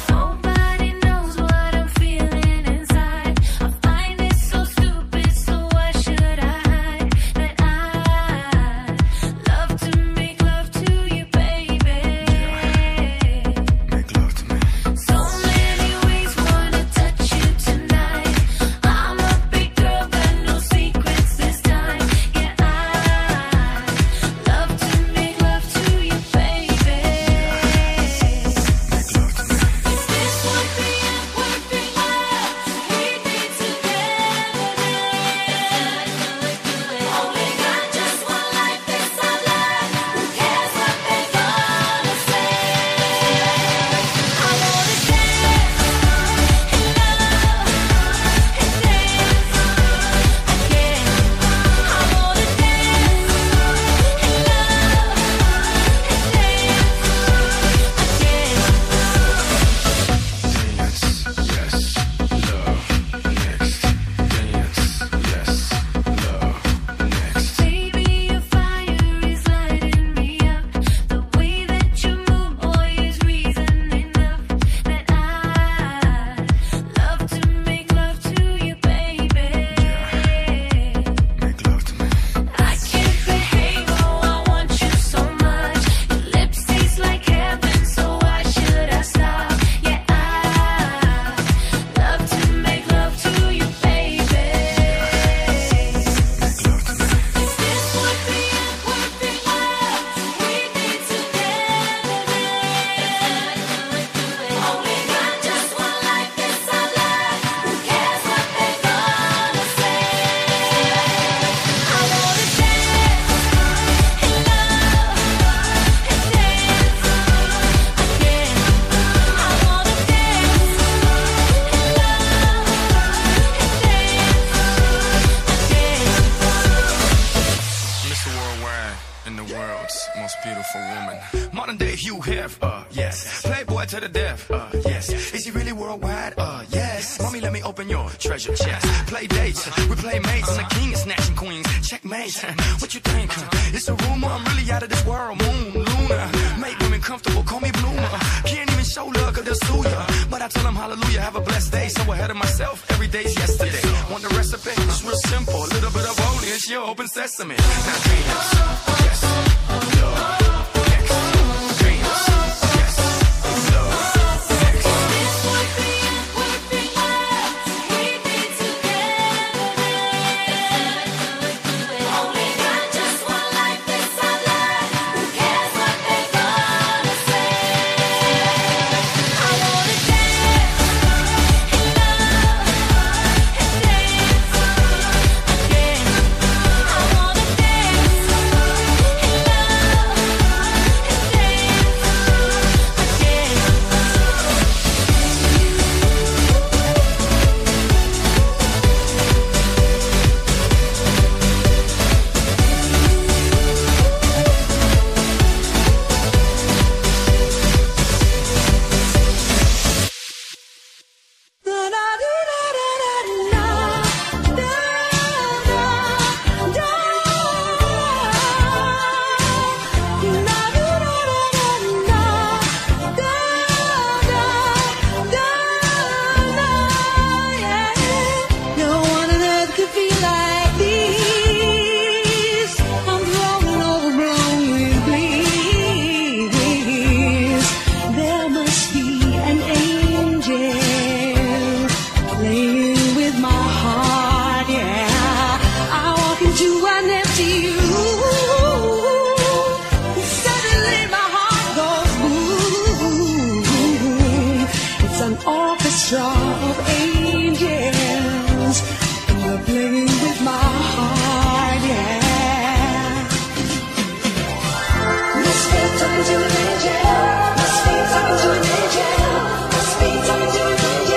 Treasure chest, play dates, we play mates, and the king is snatching queens, checkmate. What you think? It's a rumor, I'm really out of this world. Moon, Luna, make women comfortable, call me Bloomer. Can't even show love, cause they'll sue ya. But I tell them hallelujah, have a blessed day. So ahead of myself, every day's yesterday. Want the recipe? It's real simple, a little bit of holy, it's your open sesame. Now dreams, yes, love. Talking to an angel, must be talking to an angel, must be talking to an angel.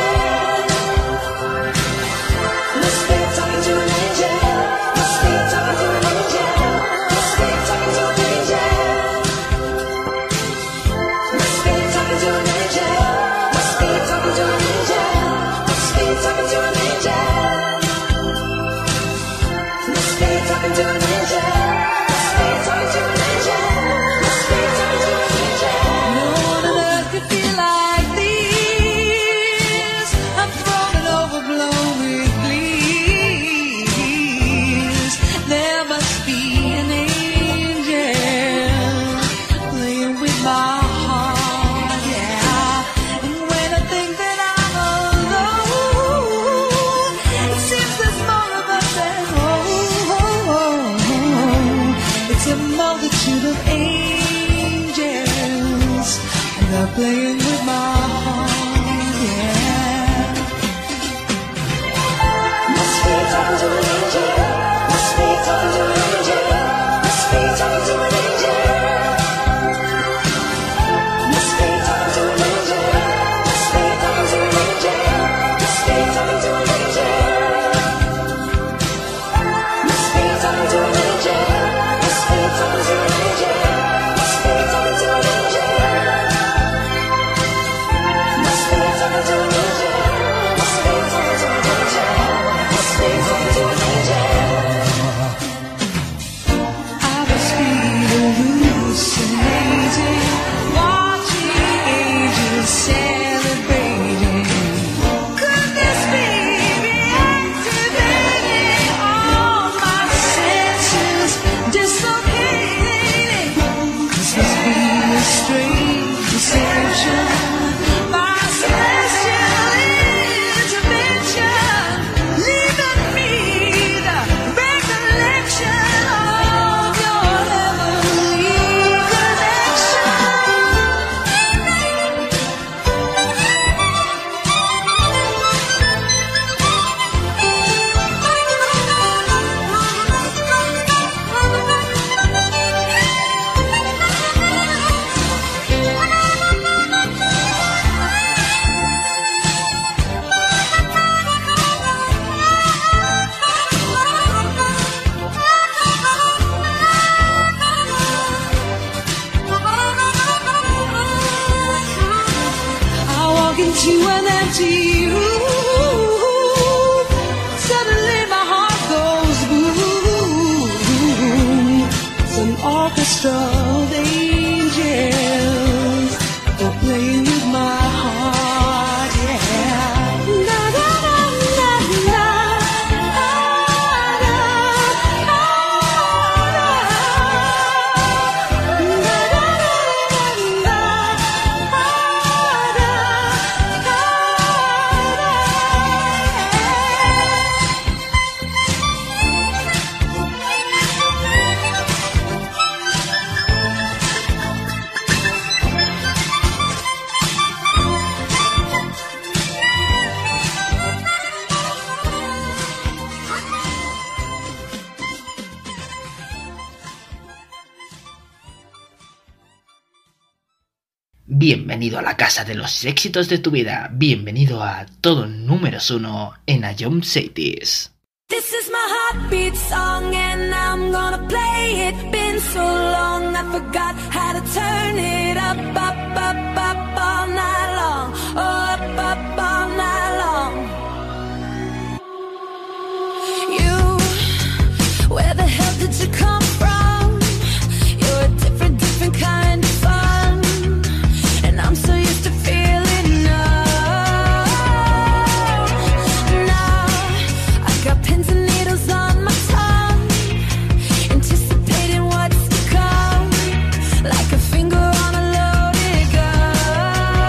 to you. Suddenly my heart goes boom. It's an orchestra of angels. They're playing with my heart, yeah. Na na na na na. Bienvenido a la casa de los éxitos de tu vida. Bienvenido a todo números uno en A Jump Cities. This is my heartbeat song and I'm gonna play it. Been so long I forgot how to turn it up, up, up, up all night long. Oh, up, up all night long. You, where the hell did you come from? You're a different, different kind of fun. And I'm so used to feeling numb. Now I got pins and needles on my tongue, anticipating what's to come, like a finger on a loaded gun.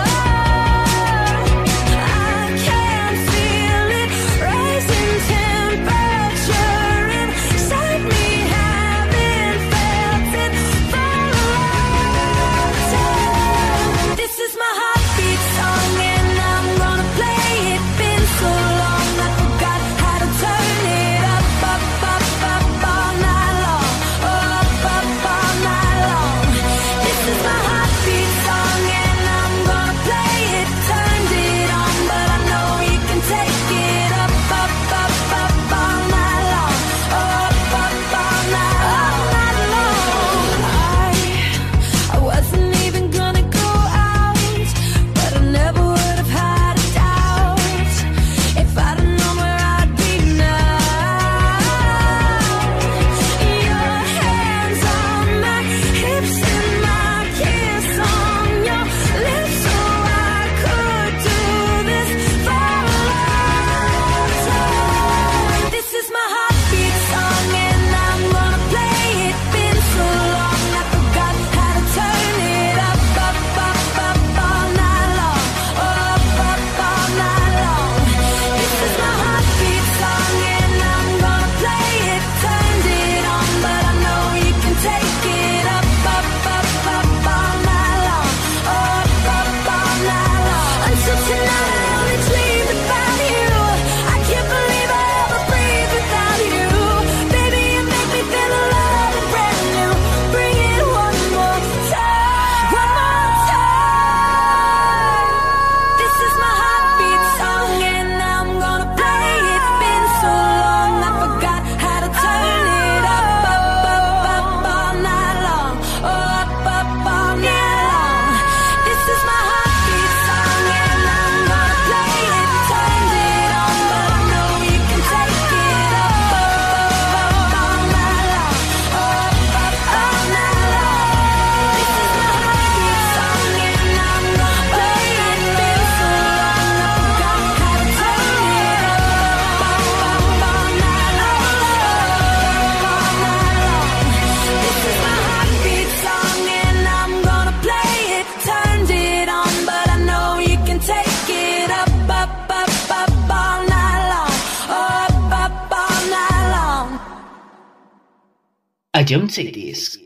I can feel it rising temperature inside me, haven't felt it for a long time. This is my heartbeat song and I'm gonna play it. Been so long I forgot how to turn it up, up, up, up all night long. Oh, up, up all night long. This is my heartbeat song and I'm gonna play it. Turned it on, but I know you can take it up, up, up, up all night long. Oh, up, up all night, all night long. I, I wasn't even gonna go out, but I never would have had a doubt if I'd have known where I'd be now. Your hands on my hips and my kiss on your lips, so I could do this for a long time. This is my heartbeat song and I'm gonna play it. Been so long I forgot how to turn it up, up, up, up all night long. Oh, up, up all night long. This is my heartbeat song and I'm gonna play it. Turned it on, but I know you can take it up, up, up, up all night long. Oh, up, up all night long. Until tonight I only dreamed about you. I can't believe I ever breathe without you. Baby, you make me feel alive and brand new. Bring it one more time, one more time. This is my heartbeat song and I'm gonna play it. Been so long I forgot how to turn it up, up, up, up all night long. Oh, up, up all night long. This is my heartbeat song and I'm gonna play it. Turned it on, but I know you can take it up, up, up, up all night long. Oh, up, up all night long. This is my heartbeat song and I'm gonna play it. Been so long I forgot how to turn it up, up, up, up all night long. Oh, up all night long. This is my heartbeat song and I'm gonna play it. Turned it on, but I know you can take it up, up, up, up all night long. Oh, up, up all night long. A Jump Cities